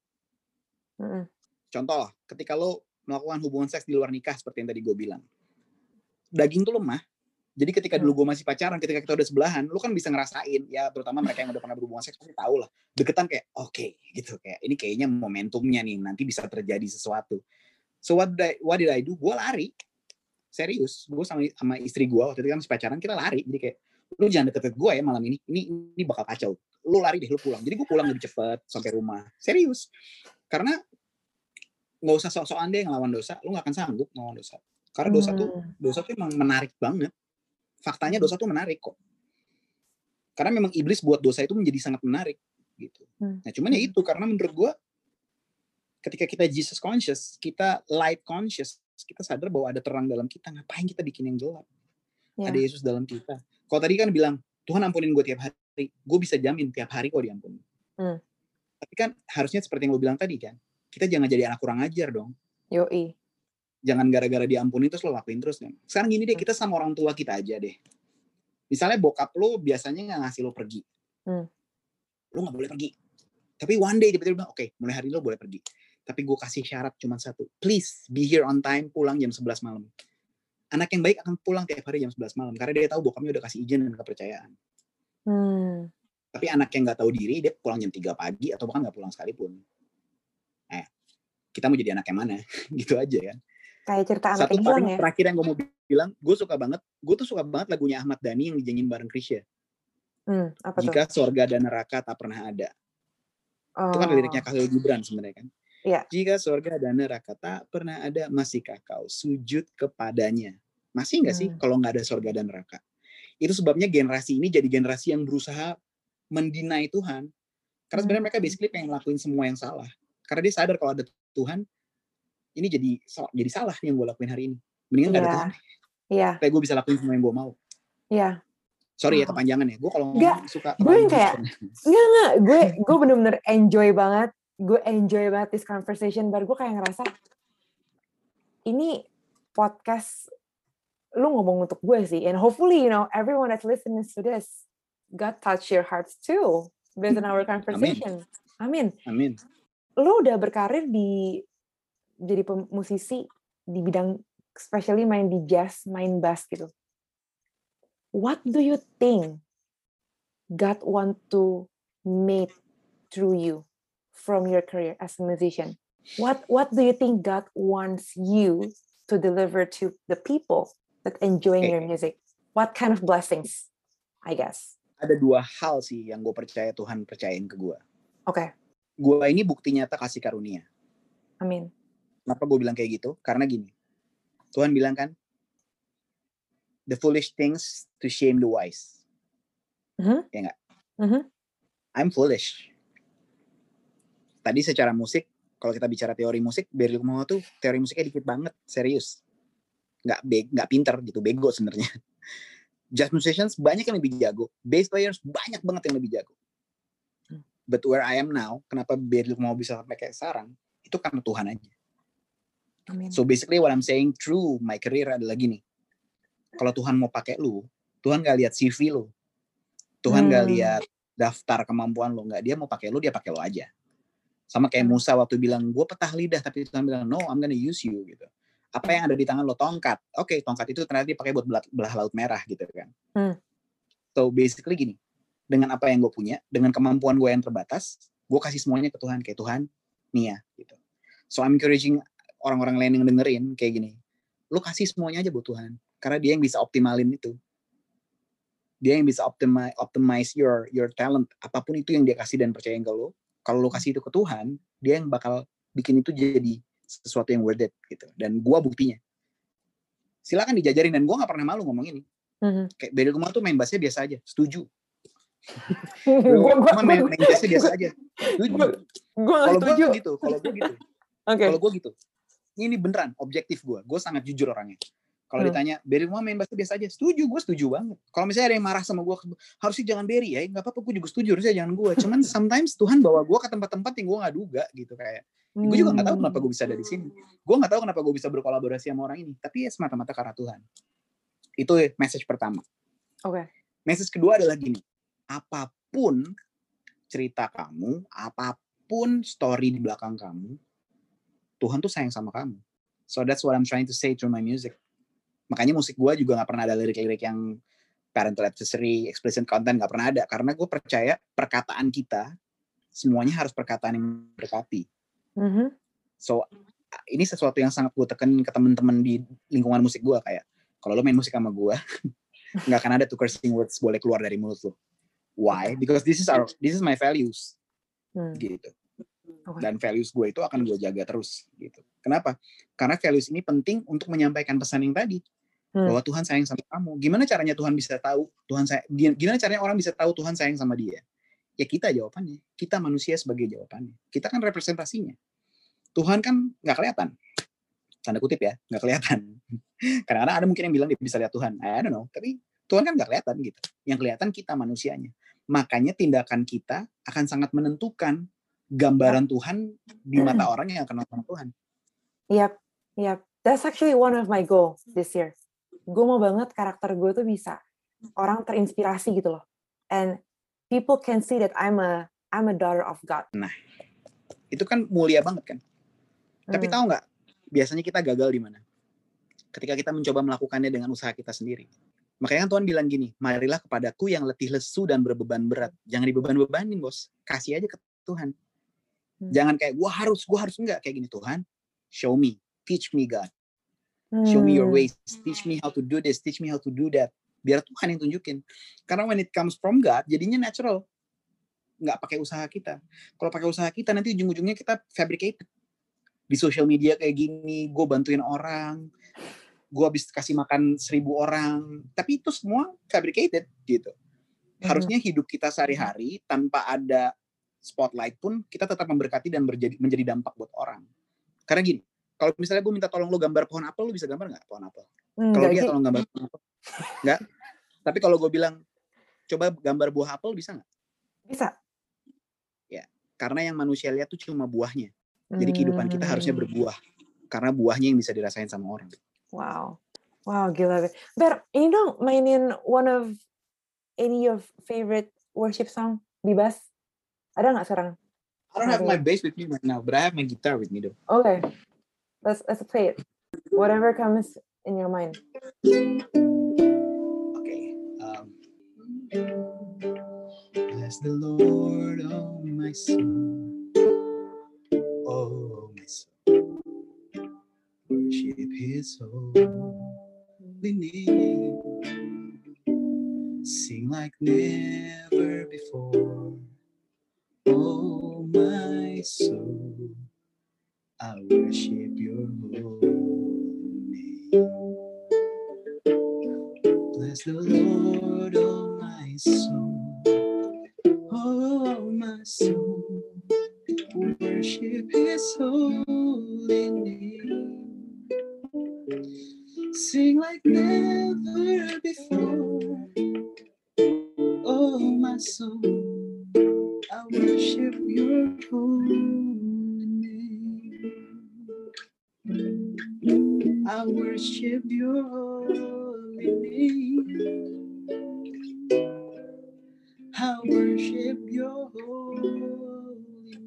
Mm-mm. Contoh, ketika lo melakukan hubungan seks di luar nikah seperti yang tadi gue bilang, daging tuh lemah. Jadi ketika dulu gue masih pacaran, ketika kita udah sebelahan, lo kan bisa ngerasain, ya terutama mereka yang udah pernah berhubungan seks pasti tahu lah, deketan kayak oke okay, gitu, kayak ini kayaknya momentumnya nih, nanti bisa terjadi sesuatu. So what did I, what did I do? Gue lari, serius. Gue sama sama istri gue waktu itu kan masih pacaran, kita lari. Jadi kayak, lu jangan deket-deket gue ya malam ini, ini ini bakal kacau. Lu lari deh, lu pulang. Jadi gue pulang lebih cepet sampai rumah. Serius. Karena nggak usah sok-sokan deh ngelawan dosa, lu nggak akan sanggup ngelawan dosa. Karena dosa tuh dosa tuh emang menarik banget. Faktanya dosa tuh menarik kok. Karena memang iblis buat dosa itu menjadi sangat menarik gitu. Nah cuman ya itu, karena menurut gue ketika kita Jesus conscious, kita light conscious, kita sadar bahwa ada terang dalam kita. Ngapain kita bikin yang gelap? Yeah. Ada Yesus dalam kita. Kalau tadi kan bilang Tuhan ampunin gue tiap hari, gue bisa jamin tiap hari kok diampuni. Hmm. Tapi kan harusnya seperti yang lo bilang tadi kan, kita jangan jadi anak kurang ajar dong. Yoi. Jangan gara-gara diampuni terus lo lakuin terus kan. Sekarang gini deh, kita sama orang tua kita aja deh. Misalnya bokap lo biasanya nggak ngasih lo pergi, hmm. lo nggak boleh pergi. Tapi one day tiba-tiba bilang, oke, okay, mulai hari ini lo boleh pergi. Tapi gue kasih syarat cuma satu, please be here on time, pulang jam sebelas malam. Anak yang baik akan pulang tiap hari jam sebelas malam karena dia tahu bokapnya udah kasih izin dan kepercayaan. Hmm. Tapi anak yang nggak tahu diri, dia pulang jam tiga pagi atau bahkan nggak pulang sekalipun. Eh, kita mau jadi anak yang mana? Gitu aja kan. Kayak cerita anak Satu yang paling ya? terakhir yang gue mau bilang, gue suka banget, gue tuh suka banget lagunya Ahmad Dhani yang dijanjiin bareng Krisya. Hmm, apa Jika tuh? sorga dan neraka tak pernah ada. Oh. Itu kan liriknya Khalil Gibran sebenarnya kan. Iya. Jika sorga dan neraka tak pernah ada, masihkah kau sujud kepadanya? Masih nggak sih hmm. kalau nggak ada sorga dan neraka? Itu sebabnya generasi ini jadi generasi yang berusaha mendinai Tuhan. Karena sebenarnya mereka basically pengen ngelakuin semua yang salah. Karena dia sadar kalau ada Tuhan, ini jadi jadi salah yang gue lakuin hari ini. Mendingan nggak yeah. ada Tuhan. Iya. Yeah. Kayak gue bisa lakuin semua yang gue mau. Iya. Yeah. Sorry oh. ya kepanjangan ya. Gue kalau ngomong suka gue kayak nggak nggak gue gue bener-bener enjoy banget. Gue enjoy banget this conversation. Baru gue kayak ngerasa ini podcast lu ngomong untuk gue sih. And hopefully you know everyone that's listening to this God touch your hearts too based on our conversation. Amin. Amin. Lu udah berkarir di jadi musisi di bidang especially main di jazz, main bass gitu. What do you think God want to make through you from your career as a musician? What What do you think God wants you to deliver to the people that enjoying okay. your music? What kind of blessings, I guess? Ada dua hal sih yang gue percaya Tuhan percayain ke gue. Oke. Okay. Gue ini bukti nyata kasih karunia. Amin. Kenapa gue bilang kayak gitu? Karena gini, Tuhan bilang kan, the foolish things to shame the wise. Mm-hmm. Ya nggak? Mm-hmm. I'm foolish. Tadi secara musik, kalau kita bicara teori musik, Berlioz tuh teori musiknya dikit banget, serius. Nggak be- nggak pinter gitu, bego sebenarnya. Jazz musicians banyak yang lebih jago, bass players banyak banget yang lebih jago. But where I am now, kenapa Berlioz mau bisa sampai kayak sekarang, itu karena Tuhan aja. Amin. So basically what I'm saying through my career adalah gini. Kalau Tuhan mau pakai lu, Tuhan gak lihat C V lu. Tuhan hmm. gak lihat daftar kemampuan lu. Nggak, dia mau pakai lu, dia pakai lu aja. Sama kayak Musa waktu bilang, gue petah lidah, tapi Tuhan bilang, no, I'm gonna use you. Gitu. Apa yang ada di tangan lo? Tongkat. Oke, okay, tongkat itu ternyata dipakai buat belah, belah laut merah gitu kan. Hmm. So basically gini, dengan apa yang gue punya, dengan kemampuan gue yang terbatas, gue kasih semuanya ke Tuhan. Kayak Tuhan, nih ya. Gitu. So I'm encouraging orang-orang lain yang dengerin kayak gini. Lu kasih semuanya aja buat Tuhan. Karena dia yang bisa optimalin itu. Dia yang bisa optimize, optimize your your talent. Apapun itu yang dia kasih dan percayain ke lu. Kalau lu kasih itu ke Tuhan, dia yang bakal bikin itu jadi sesuatu yang worth it. Gitu. Dan gua buktinya. Silakan dijajarin. Dan gua gak pernah malu ngomong ini. Mm-hmm. Kayak Beri Kumar tuh main bassnya biasa aja. Setuju. Gua main, main bassnya biasa aja. Setuju. Kalau gua gitu. Kalau gua gitu. Okay. Kalau gue gitu, ini beneran objektif gue. Gue sangat jujur orangnya. Kalau hmm. ditanya, Berry mau main bass biasa aja, setuju, gue setuju banget. Kalau misalnya ada yang marah sama gue, harusnya jangan Berry ya, nggak apa-apa, gue juga setuju, harusnya jangan gue. Cuman sometimes Tuhan bawa gue ke tempat-tempat yang gue nggak duga gitu kayak. Hmm. Gue juga nggak tahu kenapa gue bisa ada di sini. Gue nggak tahu kenapa gue bisa berkolaborasi sama orang ini. Tapi ya semata-mata karena Tuhan. Itu message pertama. Oke. Okay. Message kedua adalah gini, apapun cerita kamu, apapun story di belakang kamu, Tuhan tuh sayang sama kamu. So that's what I'm trying to say through my music. Makanya musik gue juga gak pernah ada lirik-lirik yang parental advisory, explicit content, gak pernah ada. Karena gue percaya perkataan kita, semuanya harus perkataan yang berkati. Mm-hmm. So ini sesuatu yang sangat gue tekan ke teman-teman di lingkungan musik gue. Kayak, kalau lo main musik sama gue, gak akan ada tuh cursing words boleh keluar dari mulut lo. Why? Because this is our, this is my values. Hmm. Gitu. Dan values gue itu akan gue jaga terus gitu. Kenapa? Karena values ini penting untuk menyampaikan pesan yang tadi hmm. bahwa Tuhan sayang sama kamu. Gimana caranya Tuhan bisa tahu Tuhan say- gimana caranya orang bisa tahu Tuhan sayang sama dia? Ya kita jawabannya. Kita manusia sebagai jawabannya. Kita kan representasinya. Tuhan kan nggak kelihatan. Tanda kutip ya, nggak kelihatan. Kadang-kadang ada mungkin yang bilang dia bisa lihat Tuhan. I don't know. Tapi Tuhan kan nggak kelihatan gitu. Yang kelihatan kita manusianya. Makanya tindakan kita akan sangat menentukan gambaran Tuhan di mata orang yang kenal sama Tuhan. Yep, yep. That's actually one of my goals this year. Gue mau banget karakter gue tuh bisa orang terinspirasi gitu loh. And people can see that I'm a I'm a daughter of God. Nah, itu kan mulia banget kan. Hmm. Tapi tahu nggak? Biasanya kita gagal di mana? Ketika kita mencoba melakukannya dengan usaha kita sendiri. Makanya Tuhan bilang gini, marilah kepadaku yang letih lesu dan berbeban berat. Jangan dibeban-bebanin bos. Kasih aja ke Tuhan. Hmm. Jangan kayak gue harus, gue harus enggak kayak gini. Tuhan, show me, teach me God, show me your ways, teach me how to do this, teach me how to do that. Biar Tuhan yang tunjukin. Karena when it comes from God, jadinya natural, nggak pakai usaha kita. Kalau pakai usaha kita, nanti ujung-ujungnya kita fabricated. Di social media kayak gini, gue bantuin orang, gue habis kasih makan seribu orang, tapi itu semua fabricated gitu. Harusnya hidup kita sehari-hari tanpa ada spotlight pun kita tetap memberkati dan berjadi, menjadi dampak buat orang. Karena gini, kalau misalnya gue minta tolong lo gambar pohon apel, lo bisa gambar nggak pohon apel? Hmm, kalau dia tolong gambar pohon apel, nggak. Tapi kalau gue bilang, coba gambar buah apel, bisa nggak? Bisa. Ya, karena yang manusia lihat tuh cuma buahnya. Jadi kehidupan kita harusnya berbuah. Karena buahnya yang bisa dirasain sama orang. Wow, wow, gila. Ber, ini dong mainin one of any of favorite worship song di bass. Ada nggak sekarang? I don't have my bass with me right now, but I have my guitar with me though. Okay, let's let's play it. Whatever comes in your mind. Okay. Um, bless the Lord, oh my soul, oh my soul. Worship His holy name. Sing like never before. Oh my soul, I worship your holy name. Bless the Lord, oh my soul, oh my soul, worship His holy name. Sing like never before. Oh my soul, I worship your holy name. holy name. I worship your holy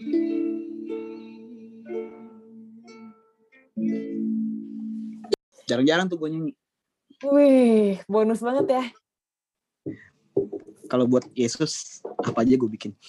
name. Jarang-jarang tuh gue nyanyi. Wih, bonus banget ya. Kalau buat Yesus, apa aja gue bikin.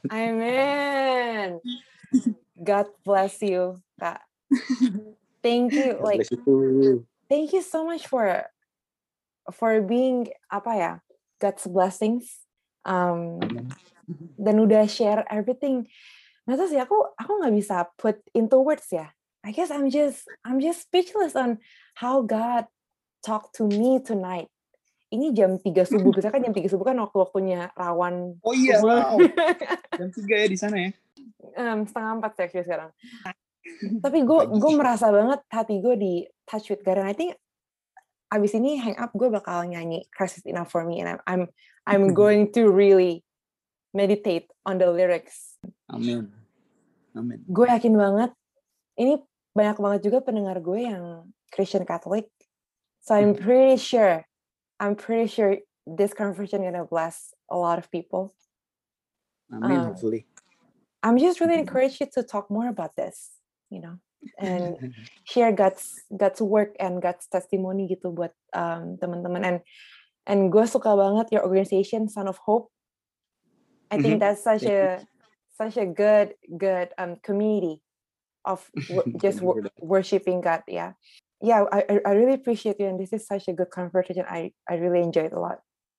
Amen. God bless you, Kak. Thank you, God like, bless you too. thank you so much for for being apa ya, God's blessings. Um, dan udah share everything. Nggak tahu sih, aku aku nggak bisa put into words ya. I guess I'm just I'm just speechless on how God talked to me tonight. Ini jam tiga subuh, biasanya kan jam tiga subuh kan waktu-waktunya rawan. Oh iya, wow. Jam tiga ya di sana ya? Um, setengah empat sih actually sekarang. Tapi gue gue merasa banget hati gue di touch with God. And I think abis ini hang up gue bakal nyanyi Christ is Enough for Me. And I'm I'm, I'm going to really meditate on the lyrics. Amin. Amin. Gue yakin banget, ini banyak banget juga pendengar gue yang Christian Catholic. So I'm pretty sure, I'm pretty sure this conversation gonna bless a lot of people. Amin, Um, hopefully. I'm just really encourage you to talk more about this, you know, and share God's God's work and God's testimony gitu buat um, teman-teman. And and gue suka banget your organization, Son of Hope. I think that's such a such a good good um, community of w- just w- worshiping God. Yeah, yeah. I I really appreciate you, and this is such a good conversation. I I really enjoyed a lot.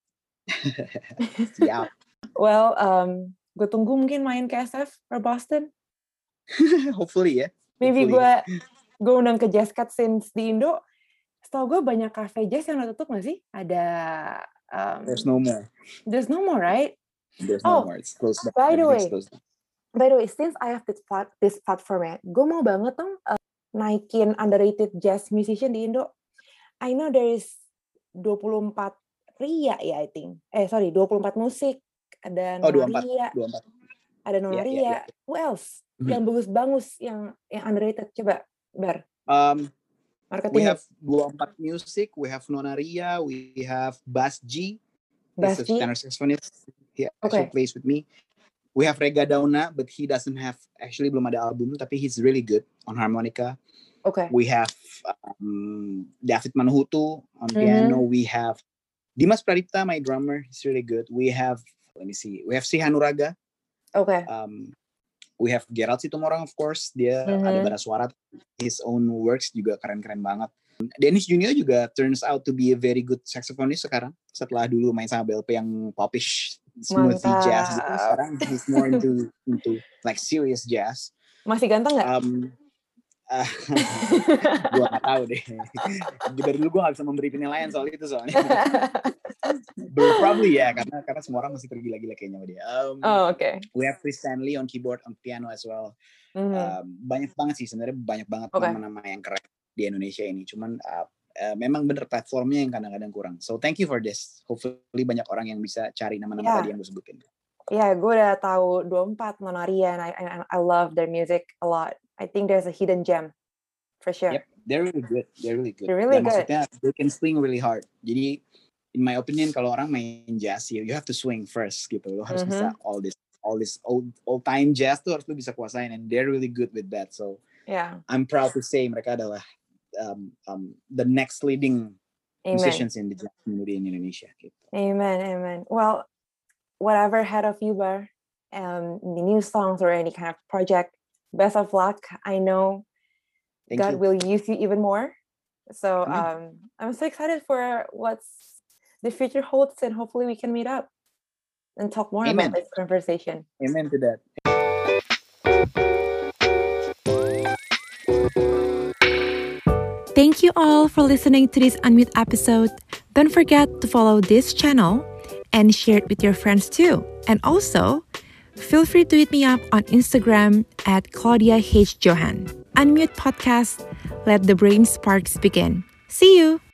Siap. Well, um, gue tunggu mungkin main ke S F or Boston. Hopefully ya. Maybe Hopefully. gue gue undang ke Jazz Cut since di Indo. Setahu gue banyak cafe jazz yang udah tutup nggak sih? Ada. Um, There's no more. There's no more, right? There's Oh, no more. It's closed down. by the way, Everything's closed down. by the way, since I have this plat- this platform ya, gue mau banget dong uh, naikin underrated jazz musician di Indo. I know there is dua puluh empat Ria ya, I think. Eh, sorry, dua puluh empat musik. Ada Oh, Nona dua puluh empat. Ria. dua puluh empat. Ada Nona Yeah, Ria. yeah, yeah. Who else? Mhm. Yang bagus-bagus, yang yang underrated. Coba, Bar. Um, Marketing. we have dua puluh empat Music, we have Nona Ria, we have Bas G. Bas He's a G? tenor saxophonist. He Okay. actually plays with me. We have Rega Dauna, but he doesn't have, actually belum ada album, tapi he's really good on harmonica. Okay. We have um, David Manhutu on Mhm. piano. We have Dimas Pradipta, my drummer. He's really good. We have, let me see, we have Si Hanuraga. Okay. Um, we have Gerald Situmorang, of course. Dia Mhm. ada bara suara. His own works juga keren-keren banget. Dennis Junior juga turns out to be a very good saxophonist sekarang. Setelah dulu main sama B L P yang popish, smoothie Mantap. jazz gitu. Sekarang he's more into into like serious jazz. Masih ganteng nggak? Um, uh, gue nggak tahu deh. Dari dulu gue nggak bisa memberi penilaian soal itu soalnya. But probably ya, karena karena semua orang masih tergila-gila kayaknya sama dia. Um, Oh, oke. Okay. We have Chris Stanley on keyboard, on piano as well. Mhm. Um, banyak banget sih sebenarnya, banyak banget Okay. nama-nama yang keren di Indonesia ini. Cuman uh, uh, memang bener platformnya yang kadang-kadang kurang. So thank you for this. Hopefully banyak orang yang bisa cari nama-nama Yeah. tadi yang gue sebutin. Ya, yeah, gue udah tahu dua puluh empat Nona Ria, and I, and I love their music a lot. I think there's a hidden gem, for sure. Yep, they're really good. They're really good. They're really Dan good. maksudnya they can swing really hard. Jadi in my opinion kalau orang main jazz, you, you have to swing first gitu. Lo harus Mhm. bisa all this all this old old time jazz tuh harus lo bisa kuasain, and they're really good with that. So Yeah. I'm proud to say mereka adalah um, um, the next leading Amen. musicians in the jazz community in Indonesia. Gitu. Amen. Amen. Well, whatever ahead of you, Bar, um, the new songs or any kind of project, best of luck. I know Thank God you. will use you even more. So Amen. um, I'm so excited for what's the future holds, and hopefully we can meet up and talk more Amen. about this conversation. Amen to that. Thank you all for listening to this Unmute episode. Don't forget to follow this channel and share it with your friends too. And also, feel free to hit me up on Instagram at Claudia H. Johan. Unmute Podcast, let the brain sparks begin. See you!